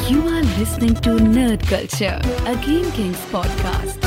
You are listening to Nerd Culture, a Game Kings podcast.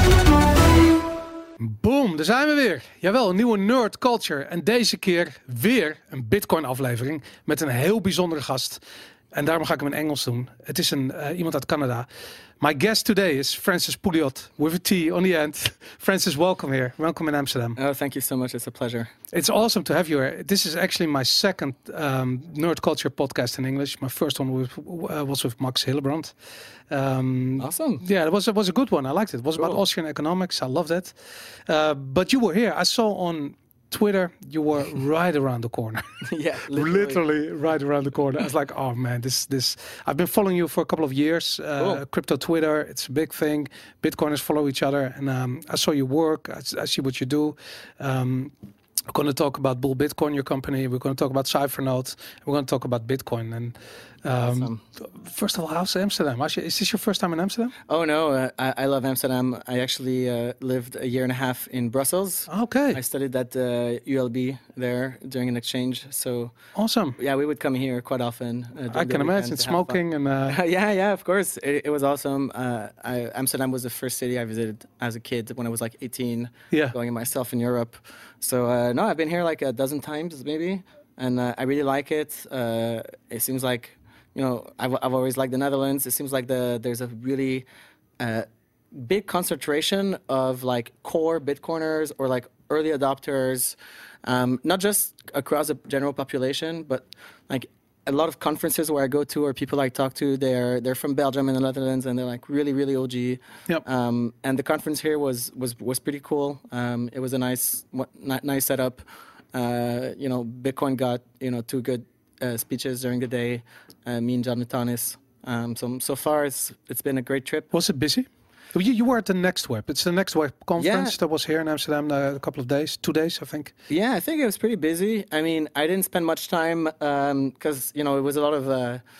Boom, daar zijn we weer. Jawel, een nieuwe Nerd Culture. En deze keer weer een Bitcoin aflevering met een heel bijzondere gast. En daarom ga ik hem in Engels doen. Het is iemand uit Canada. My guest today is Francis Pouliot with a T on the end. Francis, welcome here. Welcome in Amsterdam. Oh, thank you so much. It's a pleasure. It's awesome to have you here. This is actually my second Nerd Culture podcast in English. My first one was with Max Hillebrand. Awesome. Yeah, it was a good one. I liked it. It was about Austrian economics. I loved it. But you were here. I saw on Twitter you were right around the corner. Yeah, literally right around the corner. I was like, oh man, this. I've been following you for a couple of years. Crypto Twitter, it's a big thing. Bitcoiners follow each other, and I saw your work. I see what you do. We're going to talk about Bull Bitcoin, your company. We're going to talk about Cyphernote. We're going to talk about Bitcoin. And awesome. First of all, how's Amsterdam? Is this your first time in Amsterdam? Oh, no. I love Amsterdam. I actually lived a year and a half in Brussels. Okay. I studied at ULB there during an exchange. So awesome. Yeah, we would come here quite often. I can imagine smoking and... Yeah, of course. It was awesome. Amsterdam was the first city I visited as a kid when I was like 18, going myself in Europe. So, no, I've been here like a dozen times maybe, and I really like it. It seems like, you know, I've always liked the Netherlands. It seems like there's a really big concentration of like core Bitcoiners or like early adopters, not just across the general population, but like a lot of conferences where I go to or people I talk to, they're from Belgium and the Netherlands, and they're like really, really OG. Yep. And the conference here was pretty cool. It was a nice setup. You know, Bitcoin got, you know, two good speeches during the day. Me and John Natanis. So far it's been a great trip. Was it busy? You were at the Next Web. It's the Next Web conference that was here in Amsterdam a couple of days, 2 days, I think. Yeah, I think it was pretty busy. I mean, I didn't spend much time because, you know, it was a lot of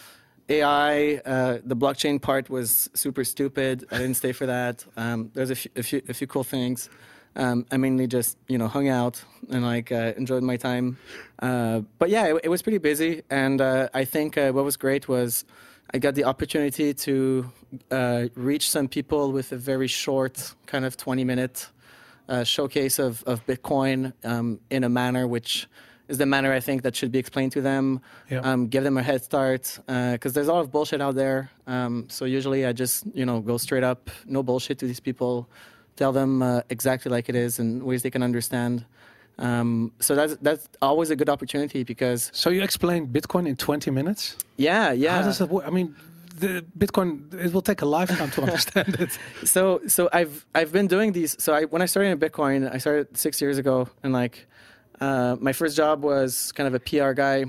AI. The blockchain part was super stupid. I didn't stay for that. There's a few cool things. I mainly just, you know, hung out and like enjoyed my time. But yeah, it was pretty busy. And I think what was great was I got the opportunity to reach some people with a very short, kind of 20-minute showcase of Bitcoin in a manner which is the manner I think that should be explained to them, give them a head start, because there's a lot of bullshit out there. So usually I just, you know, go straight up, no bullshit to these people, tell them exactly like it is and ways they can understand. So that's always a good opportunity because... So you explained Bitcoin in 20 minutes? Yeah. How does that work? I mean, the Bitcoin, it will take a lifetime to understand it. So I've been doing these. So when I started in Bitcoin, I started 6 years ago, and like my first job was kind of a PR guy,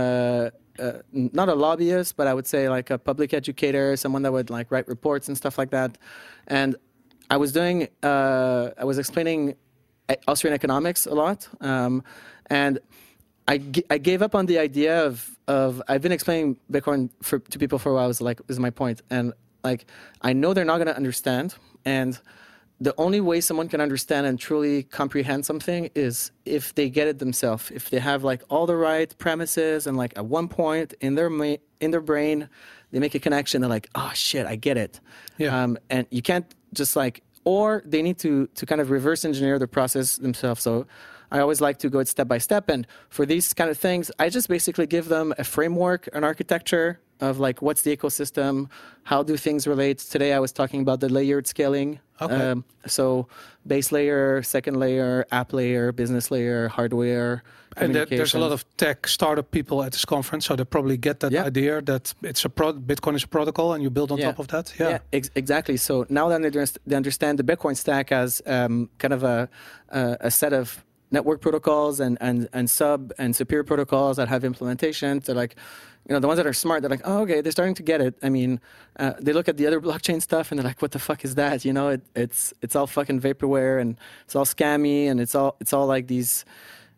not a lobbyist, but I would say like a public educator, someone that would like write reports and stuff like that. And I was explaining Austrian economics a lot, and I gave up on the idea of I've been explaining Bitcoin to people for a while. Is my point, and like I know they're not going to understand, and the only way someone can understand and truly comprehend something is if they get it themselves. If they have like all the right premises and like at one point in their brain they make a connection. They're like, oh shit, I get it. Yeah. And you can't just like. Or they need to kind of reverse engineer the process themselves. So I always like to go step by step. And for these kind of things, I just basically give them a framework, an architecture of like what's the ecosystem, how do things relate. Today I was talking about the layered scaling. Okay. So base layer, second layer, app layer, business layer, hardware. And there's a lot of tech startup people at this conference, so they probably get that idea that it's Bitcoin is a protocol and you build on top of that. Yeah, exactly. So now that they understand the Bitcoin stack as kind of a set of network protocols and sub and superior protocols that have implementations. They're like, you know, the ones that are smart, they're like, oh, okay, they're starting to get it. I mean, they look at the other blockchain stuff and they're like, what the fuck is that? You know, it's all fucking vaporware and it's all scammy and it's all like these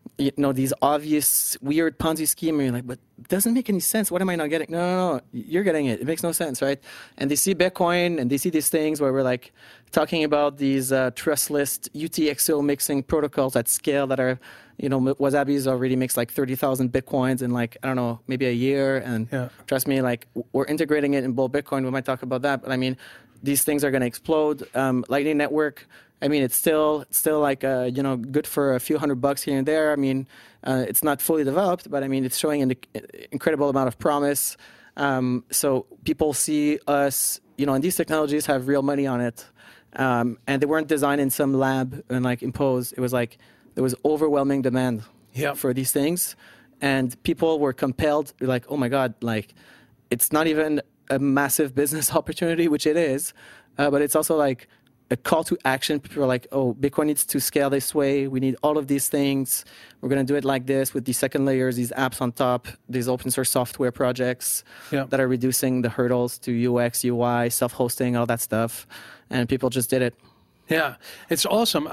these obvious weird Ponzi scheme, and you're like, but it doesn't make any sense. What am I not getting? No, you're getting it. It makes no sense, right? And they see Bitcoin, and they see these things where we're like talking about these trustless UTXO mixing protocols at scale that are, Wasabi's already makes like 30,000 Bitcoins in like, I don't know, maybe a year. And trust me, like we're integrating it in Bull Bitcoin. We might talk about that, but I mean, these things are going to explode. Lightning Network, I mean, it's still like, good for a few $100 here and there. I mean, it's not fully developed, but I mean, it's showing an incredible amount of promise. So people see us, and these technologies have real money on it. And they weren't designed in some lab and like imposed. It was like there was overwhelming demand for these things. And people were compelled, like, oh my God, like it's not even a massive business opportunity, which it is, but it's also like a call to action. People are like, oh, Bitcoin needs to scale this way. We need all of these things. We're going to do it like this with these second layers, these apps on top, these open source software projects that are reducing the hurdles to UX, UI, self-hosting, all that stuff. And people just did it. Yeah, it's awesome.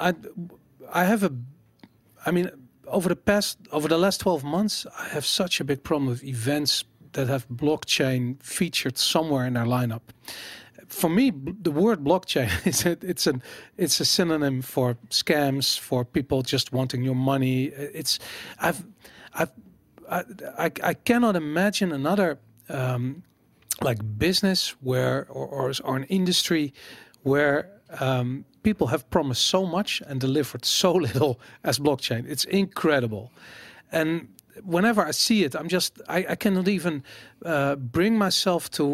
Over the last 12 months, I have such a big problem with events that have blockchain featured somewhere in their lineup. For me, the word blockchain it's a synonym for scams, for people just wanting your money. I cannot imagine another business where or an industry where people have promised so much and delivered so little as blockchain. It's incredible, and whenever I see it, I cannot even bring myself to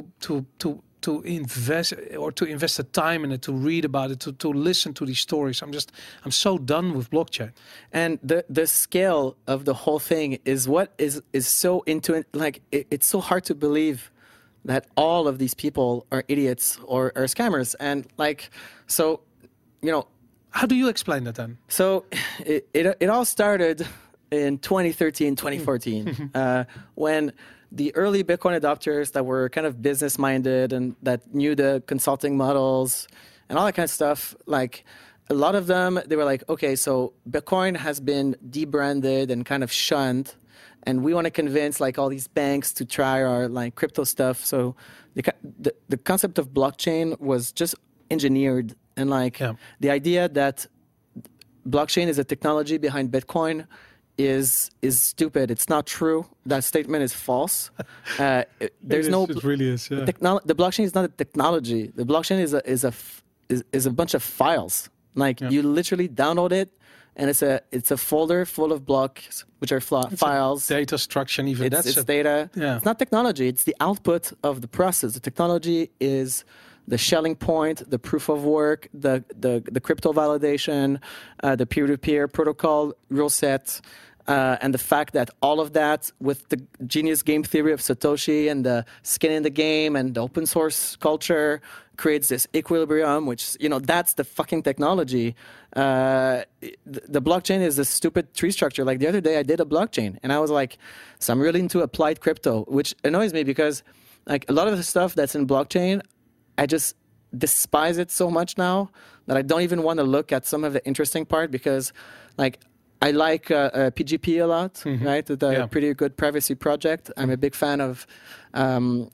invest the time in it, to read about it, to listen to these stories. I'm so done with blockchain. And the scale of the whole thing is what is so like it's so hard to believe that all of these people are idiots or are scammers. And like, so, how do you explain that then? So it all started in 2013, 2014, when the early Bitcoin adopters that were kind of business-minded and that knew the consulting models and all that kind of stuff, like a lot of them, they were like, okay, so Bitcoin has been debranded and kind of shunned, and we want to convince like all these banks to try our like crypto stuff. So the concept of blockchain was just engineered, and like the idea that blockchain is a technology behind Bitcoin is stupid. It's not true. That statement is false. It really is. Yeah. The blockchain is not a technology. The blockchain is a bunch of files. Like you literally download it, and it's a folder full of blocks, which are files. Data structure, and even it's data. Yeah. It's not technology. It's the output of the process. The technology is the shelling point, the proof of work, the crypto validation, the peer-to-peer protocol rule set, and the fact that all of that, with the genius game theory of Satoshi and the skin in the game and the open source culture, creates this equilibrium, which, that's the fucking technology. The blockchain is a stupid tree structure. Like the other day I did a blockchain and I was like, so I'm really into applied crypto, which annoys me because like a lot of the stuff that's in blockchain, I just despise it so much now that I don't even want to look at some of the interesting part, because like I like PGP a lot, right? The pretty good privacy project. I'm a big fan of, Web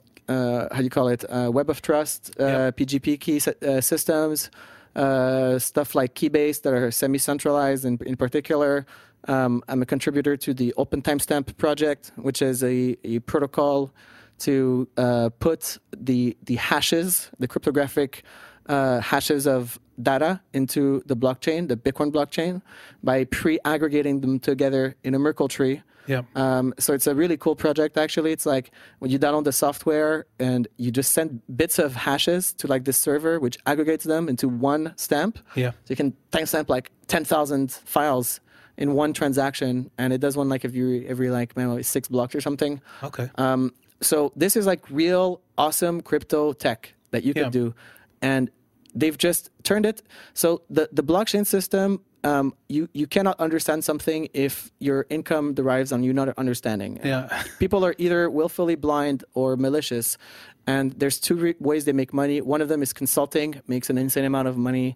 of Trust, PGP key systems, stuff like Keybase that are semi-centralized in particular. I'm a contributor to the Open Timestamp project, which is a protocol to put the hashes, the cryptographic hashes of data into the blockchain, the Bitcoin blockchain, by pre-aggregating them together in a Merkle tree. Yeah. So it's a really cool project, actually. It's like when you download the software and you just send bits of hashes to like this server, which aggregates them into one stamp. Yeah. So you can timestamp like 10,000 files in one transaction, and it does one like every like maybe 6 blocks or something. Okay. So this is like real awesome crypto tech that you could do. And they've just turned it. So the blockchain system you cannot understand something if your income derives on you not understanding. Yeah. People are either willfully blind or malicious, and there's two ways they make money. One of them is consulting, makes an insane amount of money.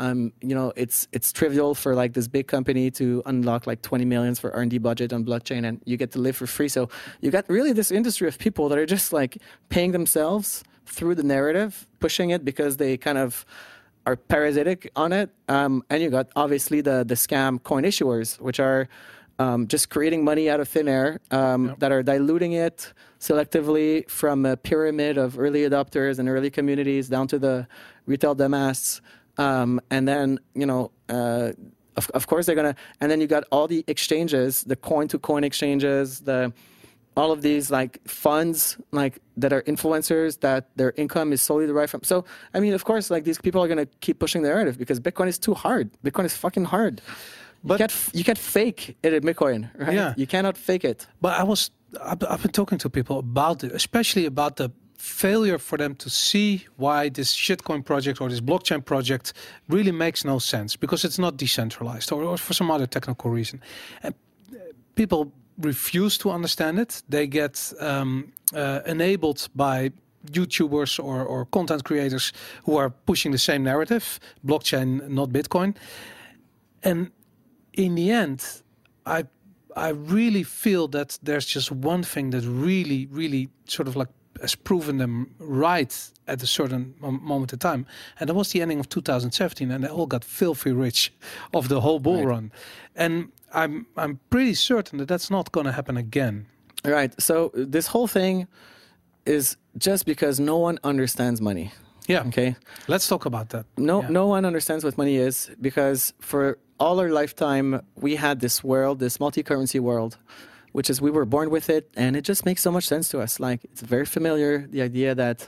It's trivial for like this big company to unlock like 20 millions for R&D budget on blockchain, and you get to live for free. So you got really this industry of people that are just like paying themselves through the narrative, pushing it because they kind of are parasitic on it. And you got obviously the scam coin issuers, which are just creating money out of thin air, that are diluting it selectively from a pyramid of early adopters and early communities down to the retail dumbass. And then, of course they're going to, and then you got all the exchanges, the coin-to-coin exchanges, all of these like funds like that are influencers that their income is solely derived from. So, I mean, of course, like these people are going to keep pushing the narrative because Bitcoin is too hard. Bitcoin is fucking hard. But you can't fake it in Bitcoin, right? Yeah. You cannot fake it. But I've been talking to people about it, especially about the failure for them to see why this shitcoin project or this blockchain project really makes no sense because it's not decentralized or for some other technical reason. And people refuse to understand it. They get enabled by YouTubers or content creators who are pushing the same narrative, blockchain, not Bitcoin. And in the end, I really feel that there's just one thing that really, really sort of like has proven them right at a certain moment in time. And that was the ending of 2017, and they all got filthy rich of the whole bull run. And I'm pretty certain that that's not going to happen again. Right. So this whole thing is just because no one understands money. Yeah. Okay. Let's talk about that. No one understands what money is because for all our lifetime, we had this world, this multi-currency world, which is we were born with it, and it just makes so much sense to us. Like, it's very familiar, the idea that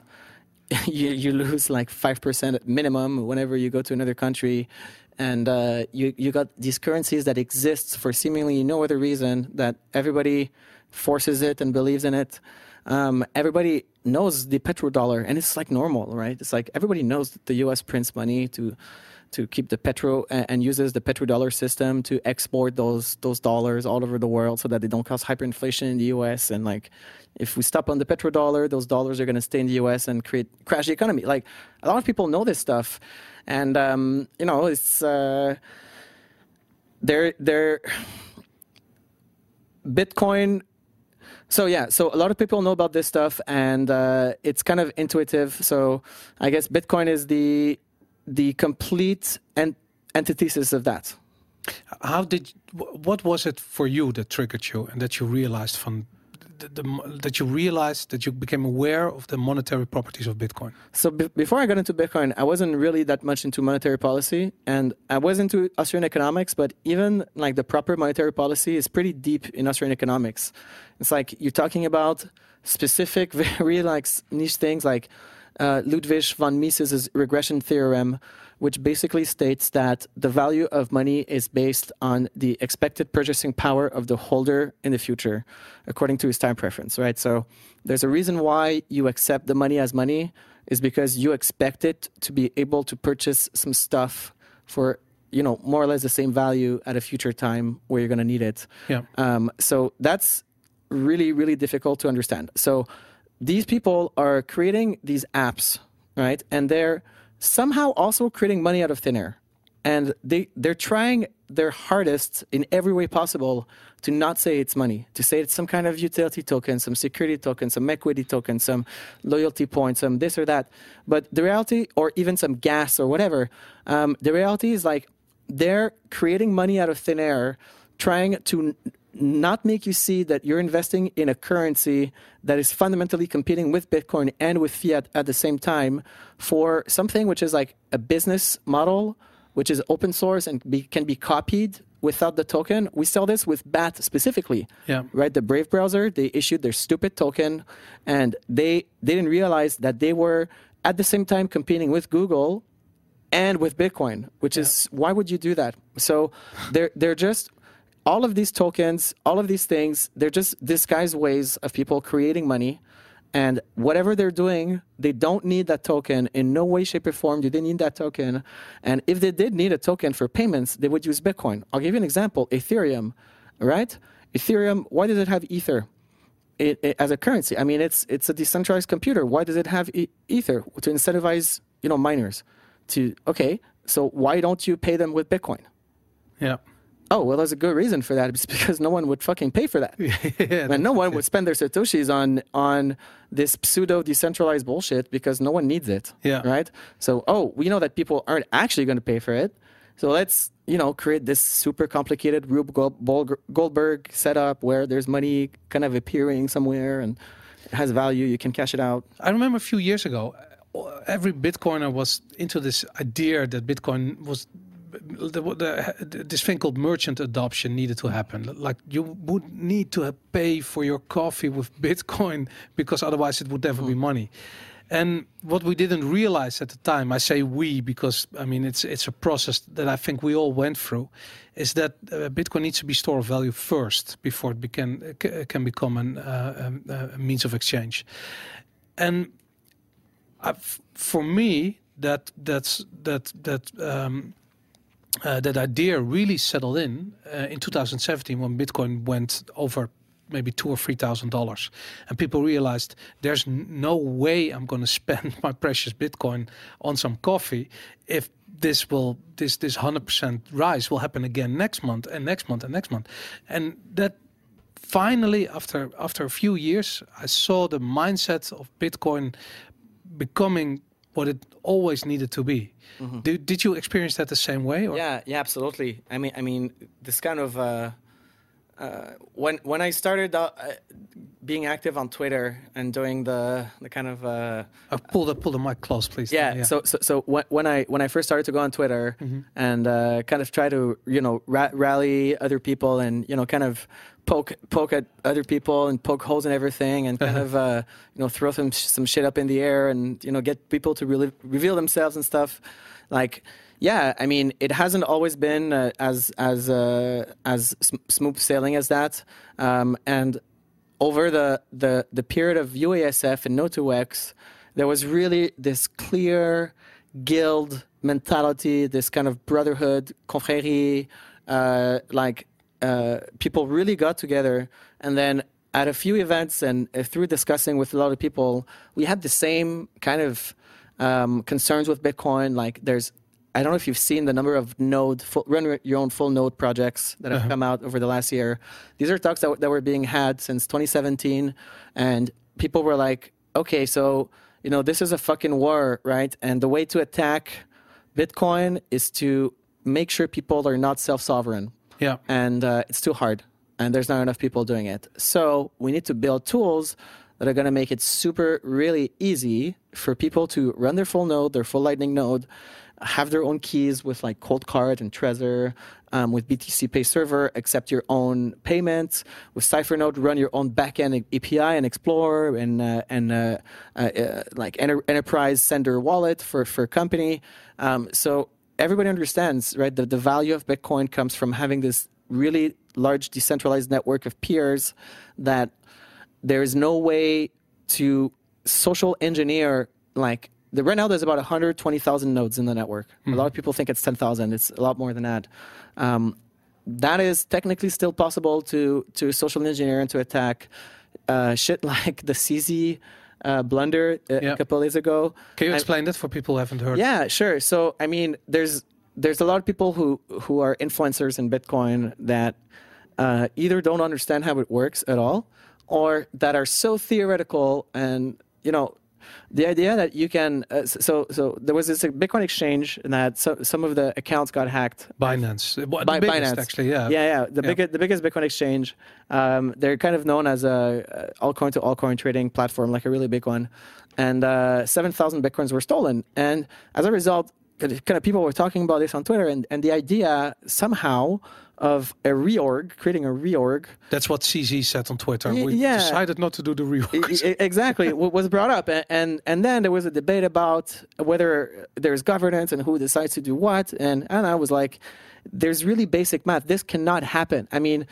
you lose like 5% at minimum whenever you go to another country, and you got these currencies that exist for seemingly no other reason, that everybody forces it and believes in it. Everybody knows the petrodollar, and it's like normal, right? It's like everybody knows that the U.S. prints money to keep the petro and uses the petrodollar system to export those dollars all over the world so that they don't cause hyperinflation in the U.S. And like, if we stop on the petrodollar, those dollars are going to stay in the U.S. and crash the economy. Like, a lot of people know this stuff, and it's they're Bitcoin. So a lot of people know about this stuff, and it's kind of intuitive. So I guess Bitcoin is the complete antithesis of that. What was it for you that triggered you and that you realized that you became aware of the monetary properties of Bitcoin? So before I got into Bitcoin, I wasn't really that much into monetary policy, and I was into Austrian economics, but even like the proper monetary policy is pretty deep in Austrian economics. It's like you're talking about specific, very like niche things like Ludwig von Mises' regression theorem, which basically states that the value of money is based on the expected purchasing power of the holder in the future, according to his time preference, right? So there's a reason why you accept the money as money is because you expect it to be able to purchase some stuff for, more or less the same value at a future time where you're going to need it. Yeah. So that's really, really difficult to understand. So these people are creating these apps, right? And they're somehow also creating money out of thin air. And they're trying their hardest in every way possible to not say it's money, to say it's some kind of utility token, some security token, some equity token, some loyalty points, some this or that. But the reality, or even some gas or whatever, the reality is like they're creating money out of thin air, trying to not make you see that you're investing in a currency that is fundamentally competing with Bitcoin and with fiat at the same time for something which is like a business model, which is open source and can be copied without the token. We sell this with BAT specifically, right? The Brave browser, they issued their stupid token, and they didn't realize that they were at the same time competing with Google and with Bitcoin, which is, why would you do that? So they're just... all of these tokens, all of these things, they're just disguised ways of people creating money And whatever they're doing, they don't need that token. In no way, shape, or form do they need that token. And if they did need a token for payments, they would use Bitcoin. I'll give you an example. Ethereum, right? Ethereum, why does it have Ether as a currency? I mean, it's a decentralized computer. Why does it have Ether? To incentivize, miners. So why don't you pay them with Bitcoin? Yeah. Oh, well, there's a good reason for that. It's because no one would fucking pay for that. And no one would spend their Satoshis on this pseudo decentralized bullshit because no one needs it. Yeah. Right? So, we know that people aren't actually going to pay for it. So let's, create this super complicated Rube Goldberg setup where there's money kind of appearing somewhere and it has value. You can cash it out. I remember a few years ago, every Bitcoiner was into this idea that Bitcoin was this thing called merchant adoption needed to happen. Like you would need to pay for your coffee with Bitcoin because otherwise it would never be money. And what we didn't realize at the time, I say we because I mean it's a process that I think we all went through, is that Bitcoin needs to be store of value first before it can become a means of exchange. And for me, that idea really settled in 2017 when Bitcoin went over maybe $2,000 or $3,000, and people realized there's no way I'm going to spend my precious Bitcoin on some coffee if this 100% rise will happen again next month and next month and next month, and that. Finally, after a few years, I saw the mindset of Bitcoin becoming what it always needed to be. Mm-hmm. Did you experience that the same way? Or? Yeah, absolutely. I mean, this kind of when I started being active on Twitter and doing the kind of pull the mic close, please. Yeah. So when I first started to go on Twitter and kind of try to rally other people and kind of poke at other people and poke holes in everything and kind of throw some shit up in the air and get people to really reveal themselves and stuff. Like, yeah, I mean, it hasn't always been as smooth sailing as that. And over the period of UASF and No2X, there was really this clear guild mentality, this kind of brotherhood, confrérie, people really got together. And then at a few events and through discussing with a lot of people, we had the same kind of concerns with Bitcoin. Like I don't know if you've seen the number of run your own full node projects that have come out over the last year. These are talks that were being had since 2017. And people were like, okay, so, this is a fucking war, right? And the way to attack Bitcoin is to make sure people are not self-sovereign. Yeah. And it's too hard. And there's not enough people doing it. So we need to build tools that are going to make it really easy for people to run their full node, their full Lightning node, have their own keys with like Coldcard and Trezor, with BTC Pay Server, accept your own payments, with CipherNode, run your own backend API and Explorer and enterprise sender wallet for company. So everybody understands, right, that the value of Bitcoin comes from having this really large decentralized network of peers that there is no way to social engineer right now there's about 120,000 nodes in the network. A lot of people think it's 10,000. It's a lot more than that. That is technically still possible to social engineer and to attack shit like the CZ blunder a couple of days ago. Can you explain that for people who haven't heard? Yeah, sure. So, I mean, there's a lot of people who are influencers in Bitcoin that either don't understand how it works at all or that are so theoretical and, the idea that you can so there was this Bitcoin exchange that some of the accounts got hacked. Binance, Binance actually, the biggest Bitcoin exchange. They're kind of known as a altcoin to altcoin trading platform, like a really big one. And 7,000 Bitcoins were stolen, and as a result, kind of people were talking about this on Twitter, and the idea somehow of creating a reorg. That's what CZ said on Twitter. We decided not to do the reorg. Exactly, was brought up. And then there was a debate about whether there's governance and who decides to do what. And I was like, there's really basic math. This cannot happen. I mean,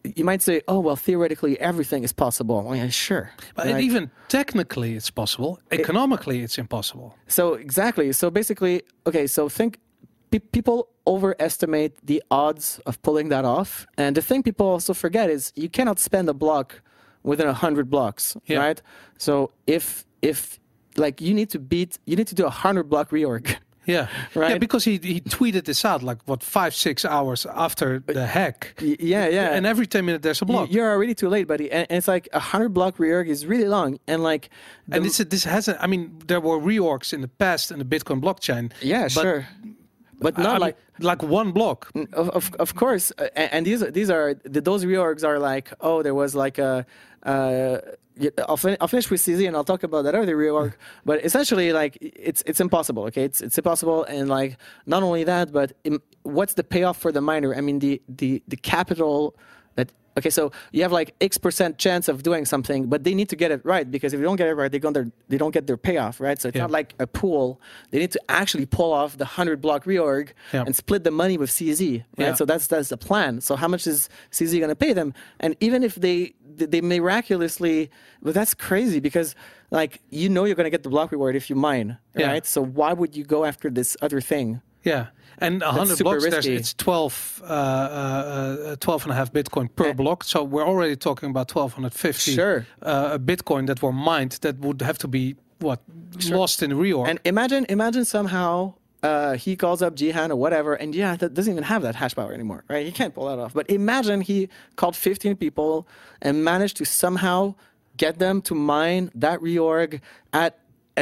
you might say, oh, well, theoretically, everything is possible. Well, yeah, sure. But right? even technically, it's possible. Economically, it's impossible. So exactly. So basically, okay, so think people overestimate the odds of pulling that off. And the thing people also forget is you cannot spend a block within 100 blocks, right? So if like you need to do 100 block reorg. Yeah, right. Yeah, because he tweeted this out like 5-6 hours after the hack. Yeah. And every 10 minutes there's a block. You're already too late, buddy. And it's like 100 block reorg is really long. And like, this hasn't. I mean, there were reorgs in the past in the Bitcoin blockchain. Yeah, sure. But not like one block. Of course. And those reorgs are like, oh, there was like a. I'll finish with CZ and I'll talk about that other reorg. But essentially, like it's impossible. Okay, it's impossible, and like not only that, but what's the payoff for the miner? I mean, the capital that. Okay, so you have like X% chance of doing something, but they need to get it right, because if you don't get it right, they don't get their payoff, right? So it's not like a pool. They need to actually pull off the 100 block reorg and split the money with CZ, right? Yeah. So that's the plan. So how much is CZ going to pay them? And even if they miraculously, but that's crazy, because like you're going to get the block reward if you mine, right? So why would you go after this other thing? Yeah. And 100 blocks, it's 12 and a half Bitcoin per block. So we're already talking about 1,250 Bitcoin that were mined that would have to be, lost in reorg. And imagine somehow he calls up Jihan or whatever, and that doesn't even have that hash power anymore, right? He can't pull that off. But imagine he called 15 people and managed to somehow get them to mine that reorg at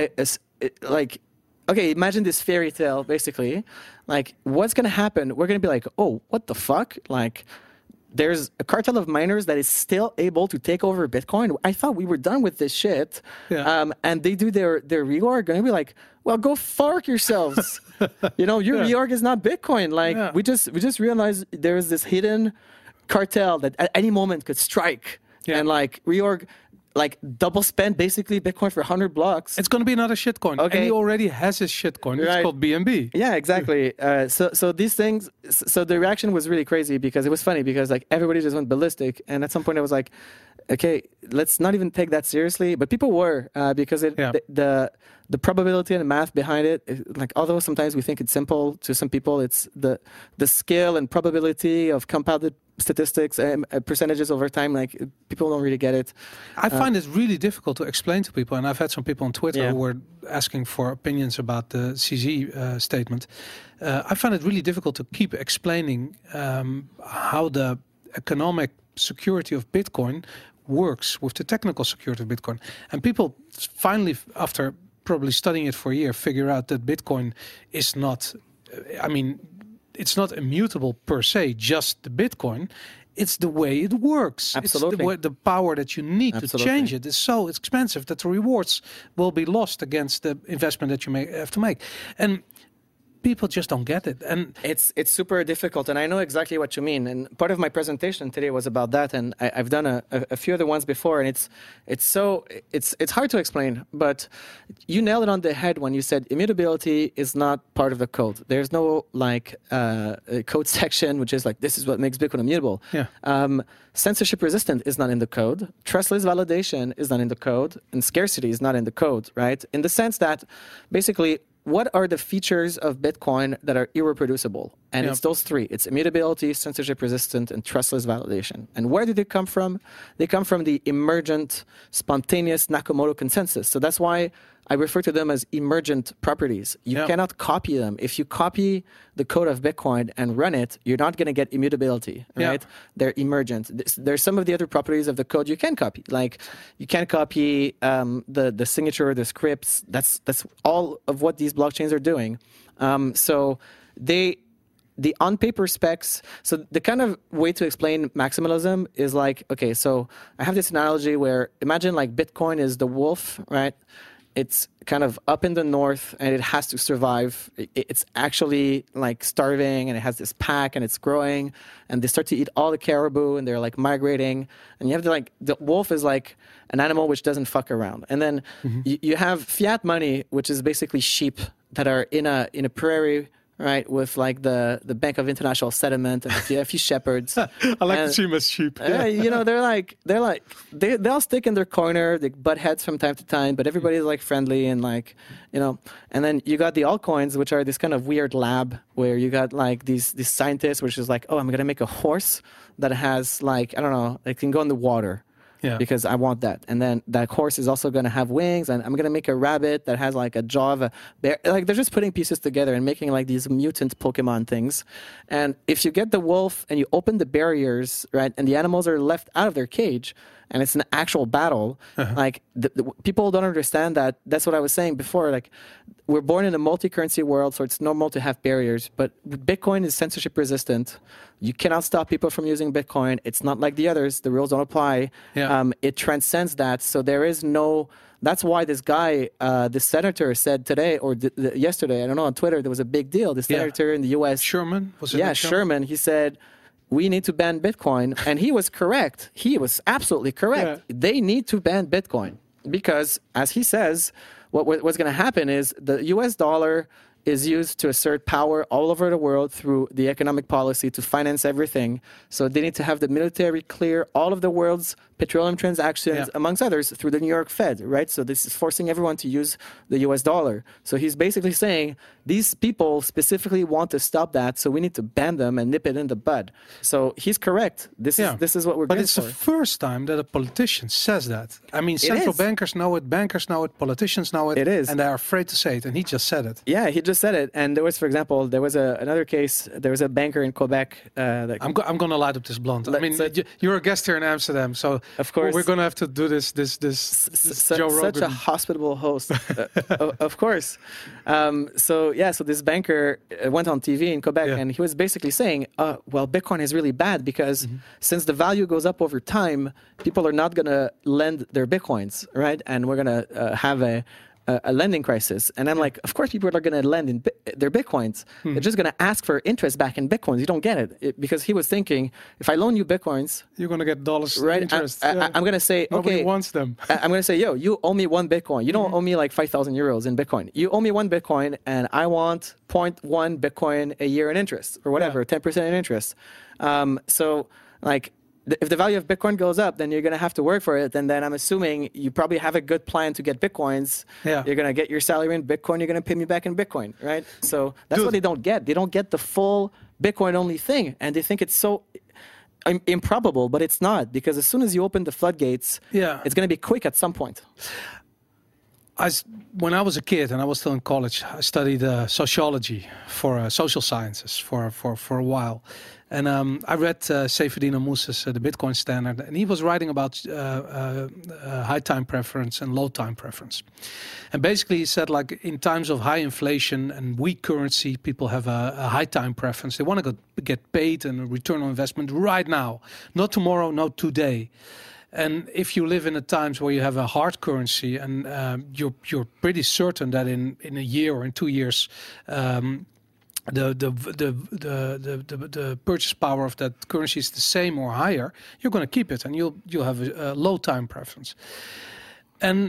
okay, imagine this fairy tale, basically. Like, what's going to happen? We're going to be like, oh, what the fuck? Like, there's a cartel of miners that is still able to take over Bitcoin. I thought we were done with this shit. Yeah. And they do their reorg, and we be like, well, go fuck yourselves. Your reorg is not Bitcoin. Like, we just realized there's this hidden cartel that at any moment could strike. Yeah. And like reorg, like double spend basically Bitcoin for 100 blocks. It's going to be another shitcoin. Okay. And he already has his shitcoin. It's called BNB. Yeah, exactly. So these things, so the reaction was really crazy, because it was funny, because like everybody just went ballistic. And at some point I was like, okay, let's not even take that seriously. But people were, because the probability and the math behind it, like although sometimes we think it's simple, to some people it's the scale and probability of compounded statistics and percentages over time, like people don't really get it. I find it really difficult to explain to people, and I've had some people on Twitter who were asking for opinions about the CZ statement. I find it really difficult to keep explaining how the economic security of Bitcoin works with the technical security of Bitcoin. And people finally, after probably studying it for a year, figure out that Bitcoin is not, it's not immutable per se, just the Bitcoin. It's the way it works. Absolutely. It's the power that you need to change it is so expensive that the rewards will be lost against the investment that you may have to make. And people just don't get it, and it's super difficult. And I know exactly what you mean. And part of my presentation today was about that. And I've done a few other ones before, and it's hard to explain. But you nailed it on the head when you said immutability is not part of the code. There's no a code section which is like, this is what makes Bitcoin immutable. Yeah. Censorship resistant is not in the code. Trustless validation is not in the code, and scarcity is not in the code. Right? In the sense that basically, what are the features of Bitcoin that are irreproducible? And it's those three. It's immutability, censorship resistant, and trustless validation. And where do they come from? They come from the emergent, spontaneous Nakamoto consensus. So that's why I refer to them as emergent properties. You cannot copy them. If you copy the code of Bitcoin and run it, you're not going to get immutability, right? Yeah. They're emergent. There's some of the other properties of the code you can copy. Like you can copy the signature, the scripts. That's all of what these blockchains are doing. So the on-paper specs, so the kind of way to explain maximalism is like, okay, so I have this analogy where imagine like Bitcoin is the wolf, right? It's kind of up in the north and it has to survive. It's actually like starving and it has this pack and it's growing and they start to eat all the caribou and they're like migrating. And you have to like, the wolf is like an animal which doesn't fuck around. And then you have fiat money, which is basically sheep that are in a prairie right, with like the Bank of International Settlement and a few shepherds. I like And- to see him as sheep. you know, they'll stick in their corner, they butt heads from time to time, but everybody's like friendly and like, you know. And then you got the altcoins, which are this kind of weird lab where you got like these scientists, which is like, oh, I'm gonna make a horse that has like, I don't know, it can go in the water. Yeah. Because I want that. And then that horse is also going to have wings, and I'm going to make a rabbit that has like a jaw of a bear. Like they're just putting pieces together and making like these mutant Pokemon things. And if you get the wolf and you open the barriers, right, and the animals are left out of their cage, and it's an actual battle, like the people don't understand that. That's what I was saying before. Like we're born in a multi-currency world, so it's normal to have barriers. But Bitcoin is censorship resistant. You cannot stop people from using Bitcoin. It's not like the others. The rules don't apply. Yeah. It transcends that. So there is no. That's why this guy, this senator, said today or yesterday, I don't know, on Twitter, there was a big deal. The senator in the U.S. Sherman? Was it Yeah, not Sherman. He said, we need to ban Bitcoin. And he was correct. He was absolutely correct. Yeah. They need to ban Bitcoin because, as he says, what's going to happen is the U.S. dollar is used to assert power all over the world through the economic policy to finance everything. So they need to have the military clear all of the world's petroleum transactions, amongst others, through the New York Fed, right? So this is forcing everyone to use the US dollar. So he's basically saying these people specifically want to stop that, so we need to ban them and nip it in the bud. So he's correct. This is what we're But going it's for. the first time that a politician says that. I mean, central is. bankers know it, bankers know it, politicians know it. It is. And they're afraid to say it, and he just said it. Yeah, he just said it. And there was, for example, another case. There was a banker in Quebec. That I'm going to light up this blunt. I mean, you're a guest here in Amsterdam, so Of course. we're going to have to do this Joe Rogan. Such a hospitable host, of course. So this banker went on TV in Quebec, and he was basically saying, well, Bitcoin is really bad because since the value goes up over time, people are not going to lend their Bitcoins, right? And we're going to have a lending crisis. And I'm like, of course people are going to lend in their Bitcoins. They're just going to ask for interest back in Bitcoins. You don't get it. Because he was thinking, if I loan you Bitcoins... You're going to get dollars right, interest. I'm going to say, Nobody okay... wants them. I'm going to say, yo, you owe me 1 Bitcoin. You don't owe me like 5,000 euros in Bitcoin. You owe me 1 Bitcoin, and I want 0.1 Bitcoin a year in interest, or whatever, 10% in interest. So, like... if the value of Bitcoin goes up, then you're going to have to work for it. And then I'm assuming you probably have a good plan to get Bitcoins. Yeah. You're going to get your salary in Bitcoin. You're going to pay me back in Bitcoin, right? So that's what they don't get. They don't get the full Bitcoin-only thing. And they think it's so improbable, but it's not. Because as soon as you open the floodgates, it's going to be quick at some point. When I was a kid and I was still in college, I studied sociology for social sciences for a while. And I read Saifedean Ammous's The Bitcoin Standard, and he was writing about high time preference and low time preference. And basically he said, like, in times of high inflation and weak currency, people have a high time preference. They want to get paid and a return on investment right now, not tomorrow, not today. And if you live in the times where you have a hard currency and you're pretty certain that in a year or in 2 years, the purchase power of that currency is the same or higher, you're going to keep it, and you'll have a low time preference. And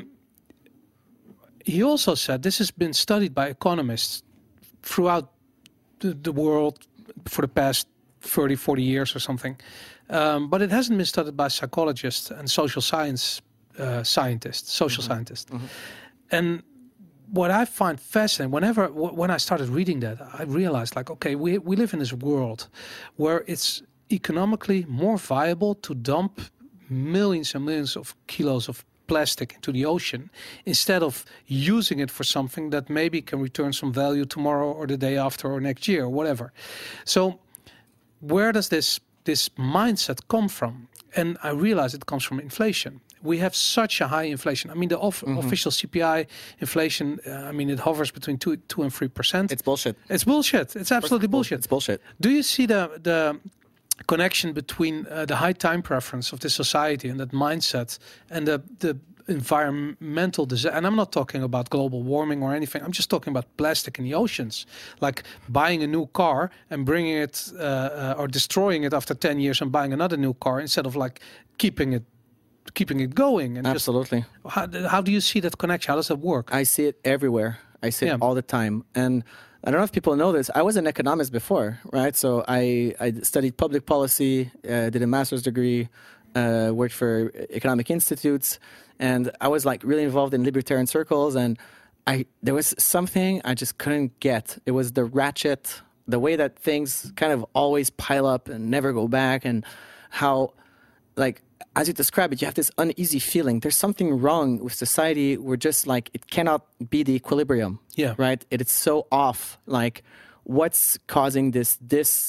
he also said this has been studied by economists throughout the world for the past 30, 40 years or something. But it hasn't been studied by psychologists and social science scientists, social scientists. And what I find fascinating, when I started reading that, I realized, like, okay, we live in this world where it's economically more viable to dump millions and millions of kilos of plastic into the ocean instead of using it for something that maybe can return some value tomorrow or the day after or next year or whatever. So where does this mindset come from? And I realize it comes from inflation. We have such a high inflation. I mean, the official CPI inflation, it hovers between 2 and 3%. It's bullshit. It's bullshit. It's absolutely bullshit. It's bullshit. Do you see the connection between the high time preference of this society and that mindset and the environmental disaster? And I'm not talking about global warming or anything. I'm just talking about plastic in the oceans, like buying a new car and bringing it or destroying it after 10 years and buying another new car instead of like keeping it going. And absolutely. How do you see that connection? How does that work? I see it everywhere. I see it all the time. And I don't know if people know this. I was an economist before, right? So I studied public policy, did a master's degree, worked for economic institutes, and I was like really involved in libertarian circles. And there was something I just couldn't get. It was the ratchet, the way that things kind of always pile up and never go back, and how, like, as you describe it, you have this uneasy feeling. There's something wrong with society. We're just like, it cannot be the equilibrium. Yeah. Right? It's so off. Like, what's causing this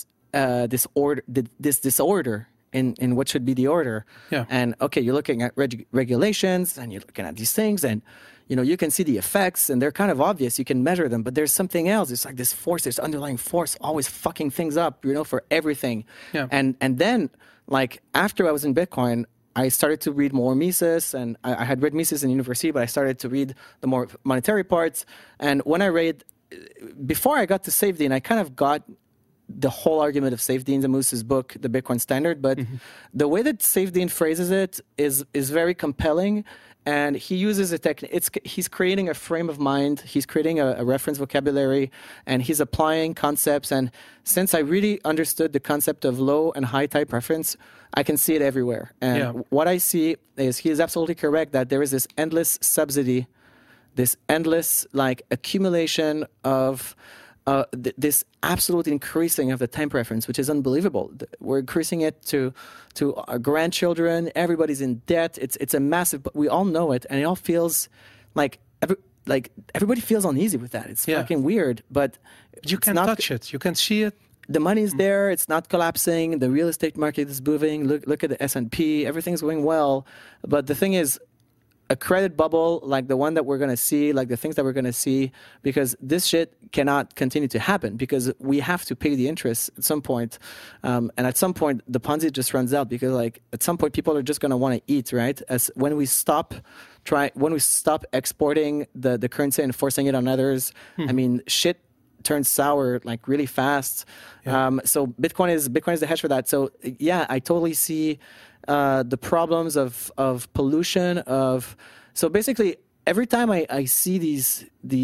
disorder in what should be the order? Yeah. And okay, you're looking at regulations, and you're looking at these things, and you can see the effects, and they're kind of obvious. You can measure them, but there's something else. It's like this force, this underlying force, always fucking things up, for everything. Yeah. And then, like, after I was in Bitcoin, I started to read more Mises, and I had read Mises in university, but I started to read the more monetary parts. And when I read, before I got to Saifedean, I kind of got the whole argument of Saifedean Ammous's book, The Bitcoin Standard. But the way that Saifedean phrases it is very compelling. And he uses a technique. He's creating a frame of mind. He's creating a reference vocabulary, and he's applying concepts. And since I really understood the concept of low and high type preference, I can see it everywhere. And what I see is he is absolutely correct that there is this endless subsidy, this endless accumulation of this absolute increasing of the time preference, which is unbelievable. We're increasing it to our grandchildren. Everybody's in debt. It's a massive, but we all know it, and it all feels like everybody feels uneasy with that. It's fucking weird, but you can touch it. You can see it. The money's there. It's not collapsing. The real estate market is moving. Look at the S&P. Everything's going well. But the thing is, a credit bubble like the one that we're going to see, like the things that we're going to see, because this shit cannot continue to happen, because we have to pay the interest at some point. And at some point, the Ponzi just runs out, because at some point, people are just going to want to eat, right? When we stop exporting the currency and forcing it on others, I mean, shit turns sour really fast. So Bitcoin is the hedge for that. So yeah, I totally see the problems of pollution. So basically, every time I see these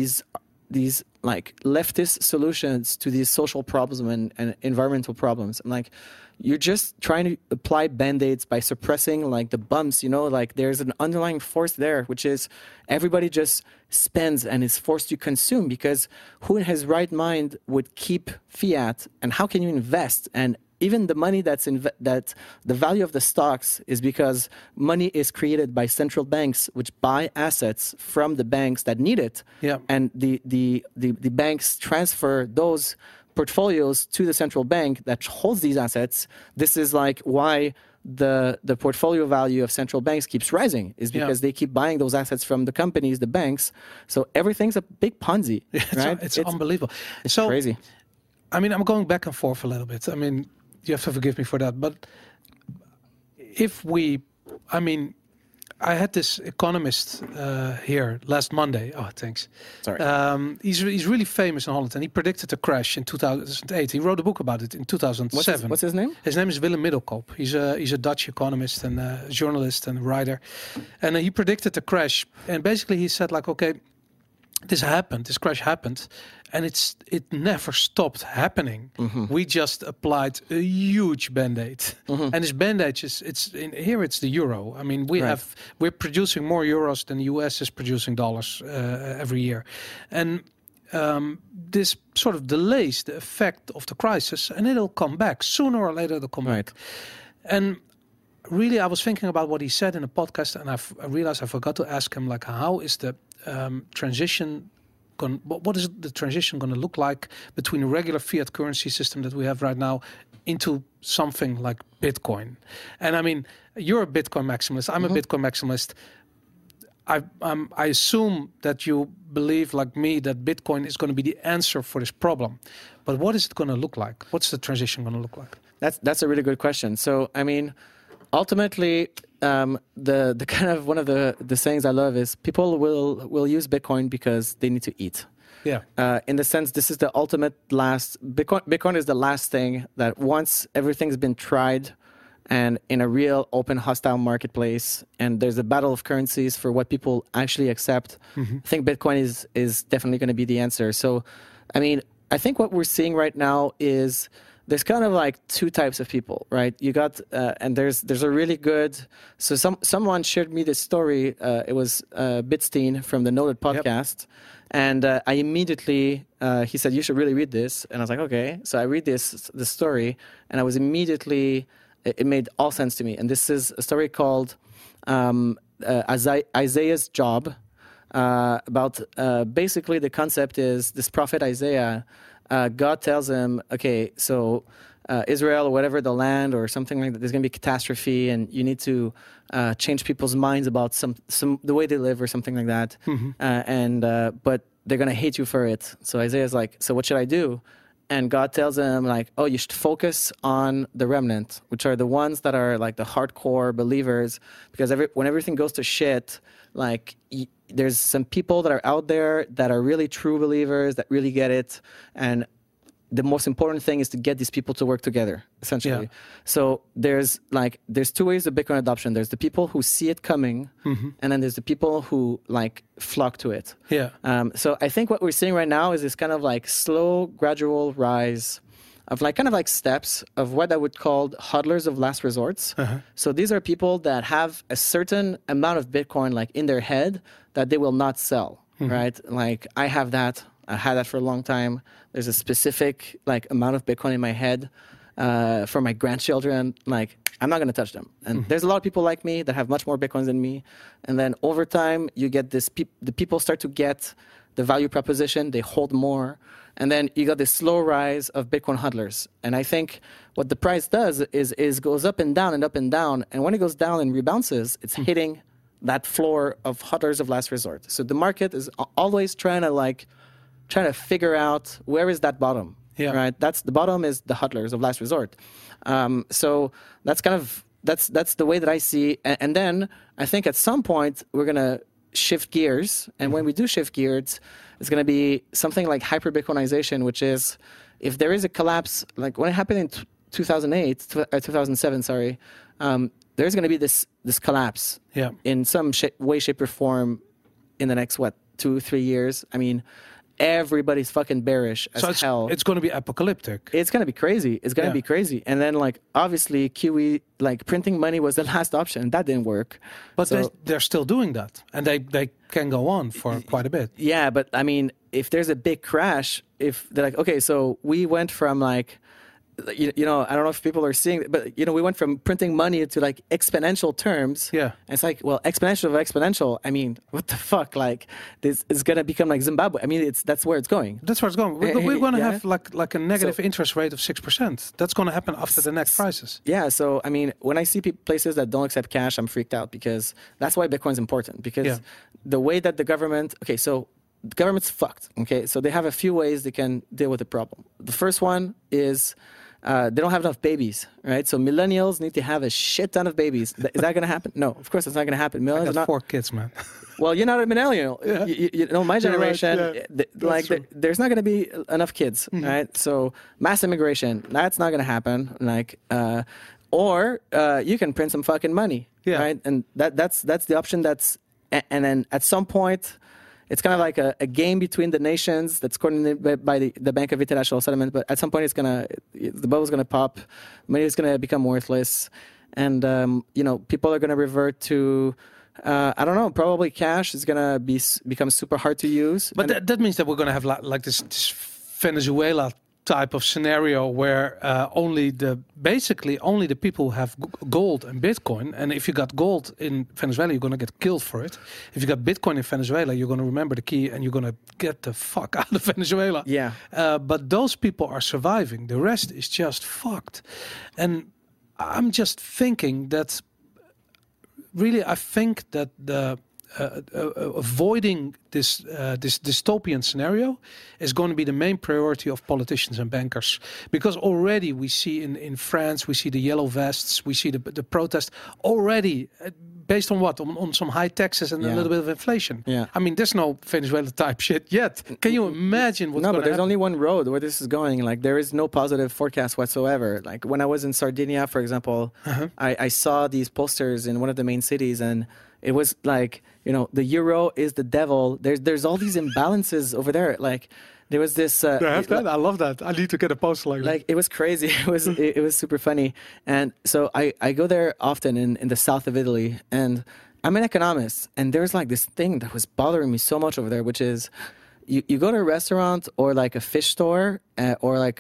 leftist solutions to these social problems and environmental problems, I'm like, you're just trying to apply band-aids by suppressing the bumps. There's an underlying force there, which is everybody just spends and is forced to consume, because who in his right mind would keep fiat, and how can you invest? And even the money that the value of the stocks is because money is created by central banks, which buy assets from the banks that need it. Yeah. And the banks transfer those portfolios to the central bank that holds these assets. This is why the portfolio value of central banks keeps rising, is because they keep buying those assets from the companies, the banks. So everything's a big Ponzi, right? It's unbelievable. It's crazy. I mean, I'm going back and forth a little bit. I mean, you have to forgive me for that. But I had this economist here last Monday. Oh, thanks. Sorry. He's really famous in Holland, and he predicted a crash in 2008. He wrote a book about it in 2007. What's his name? His name is Willem Middelkoop. He's a Dutch economist and journalist and writer. And he predicted the crash. And basically he said okay, this crash happened, and it never stopped happening. We just applied a huge band-aid, and this band-aid it's the euro. I mean, we're producing more euros than the US is producing dollars every year, and this sort of delays the effect of the crisis, and it'll come back sooner or later. It'll come back, and really, I was thinking about what he said in a podcast, and I realized I forgot to ask him how is the transition what is the transition going to look like between the regular fiat currency system that we have right now into something like Bitcoin? And I mean, you're a Bitcoin maximalist. I'm a Bitcoin maximalist. I assume that you believe, like me, that Bitcoin is going to be the answer for this problem. But what is it going to look like? What's the transition going to look like? That's a really good question. So, I mean, ultimately, the kind of one of the sayings I love is people will use Bitcoin because they need to eat. Yeah. In the sense, this is the ultimate last. Bitcoin is the last thing that once everything's been tried and in a real open, hostile marketplace, and there's a battle of currencies for what people actually accept, I think Bitcoin is definitely going to be the answer. So, I mean, I think what we're seeing right now is there's kind of like two types of people, right? You got, and there's a really good, so someone shared me this story, it was Bitstein from the Noted podcast, and I immediately, he said, you should really read this, and I was like, okay. So I read the story, and I was immediately, it made all sense to me, and this is a story called Isaiah's Job, about basically the concept is this prophet Isaiah, God tells him, okay, so Israel or whatever, the land or something like that, there's going to be catastrophe and you need to change people's minds about some the way they live or something like that. But they're going to hate you for it. So Isaiah's like, so what should I do? And God tells him like, oh, you should focus on the remnant, which are the ones that are like the hardcore believers, because when everything goes to shit, like there's some people that are out there that are really true believers that really get it. And the most important thing is to get these people to work together, essentially. Yeah. So there's two ways of Bitcoin adoption. There's the people who see it coming, and then there's the people who like flock to it. Yeah. So I think what we're seeing right now is this kind of like slow, gradual rise of like kind of like steps of what I would call hodlers of last resorts. So these are people that have a certain amount of Bitcoin like in their head that they will not sell, right? Like I have that. I had that for a long time. There's a specific like amount of Bitcoin in my head for my grandchildren. Like I'm not going to touch them. And there's a lot of people like me that have much more Bitcoins than me. And then over time, you get this. The people start to get the value proposition. They hold more. And then you got this slow rise of Bitcoin hodlers. And I think what the price does is goes up and down and up and down. And when it goes down and rebounces, it's hitting that floor of hodlers of last resort. So the market is always trying to figure out where is that bottom, right? That's the bottom is the hodlers of last resort. So that's kind of, that's the way that I see. And then I think at some point we're going to shift gears. And when we do shift gears, it's going to be something like hyper Bitcoinization, which is if there is a collapse, like when it happened in 2007, sorry, there's going to be this collapse in some way, shape, or form in the next, 2-3 years. I mean, everybody's fucking bearish as hell. It's going to be apocalyptic. It's going to be crazy. It's going to be crazy. And then, like, obviously, QE, like, printing money was the last option. That didn't work. But they're still doing that. And they can go on for quite a bit. Yeah, but, I mean, if there's a big crash, if they're like, okay, so we went from, like, you know, I don't know if people are seeing it, but, you know, we went from printing money to like exponential terms. Yeah. And it's like, well, exponential. I mean, what the fuck? Like, this is going to become like Zimbabwe. I mean, that's where it's going. That's where it's going. We're going to have like a negative interest rate of 6%. That's going to happen after the next crisis. Yeah. So, I mean, when I see places that don't accept cash, I'm freaked out because that's why Bitcoin's important. Because the way that the government, the government's fucked. Okay. So they have a few ways they can deal with the problem. The first one is, they don't have enough babies, right? So millennials need to have a shit ton of babies. Is that going to happen? No, of course it's not going to happen. Millennials I got 4 kids, man. Well, you're not a millennial. Yeah. You know, my generation, there's not going to be enough kids, right? So mass immigration, that's not going to happen. Like, or you can print some fucking money, right? And that's the option. And then at some point, it's kind of like a game between the nations that's coordinated by the Bank of International Settlement. But at some point, the bubble's going to pop, money is going to become worthless, and you know, people are going to revert to, I don't know, probably cash is going to become super hard to use. But that means that we're going to have like this Venezuela type of scenario where only the people who have gold and Bitcoin, and if you got gold in Venezuela, you're going to get killed for it. If you got Bitcoin in Venezuela, you're going to remember the key and you're going to get the fuck out of Venezuela. Yeah. But those people are surviving. The rest is just fucked. And I'm just thinking that really, I think that the avoiding this dystopian scenario is going to be the main priority of politicians and bankers, because already we see in France, we see the yellow vests, we see the protest already. based on what? On some high taxes and a little bit of inflation. Yeah. I mean, there's no Venezuela type shit yet. Can you imagine what's No, going but to there's only one road where this is going. Like, there is no positive forecast whatsoever. Like, when I was in Sardinia, for example, I saw these posters in one of the main cities, and it was like, the euro is the devil. There's all these imbalances over there. Like, there was this. I love that. I need to get a poster like that. Like, it was crazy. It was super funny. And so I go there often in the south of Italy, and I'm an economist, and there's like this thing that was bothering me so much over there, which is you go to a restaurant or like a fish store or like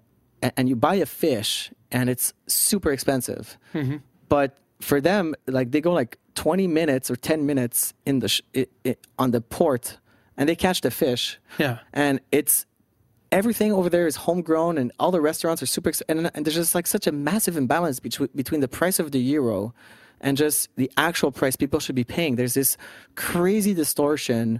and you buy a fish, and it's super expensive. But for them, like, they go like 20 minutes or 10 minutes in on the port, and they catch the fish. Yeah. And it's everything over there is homegrown, and all the restaurants are super and there's just like such a massive imbalance between the price of the euro and just the actual price people should be paying. There's this crazy distortion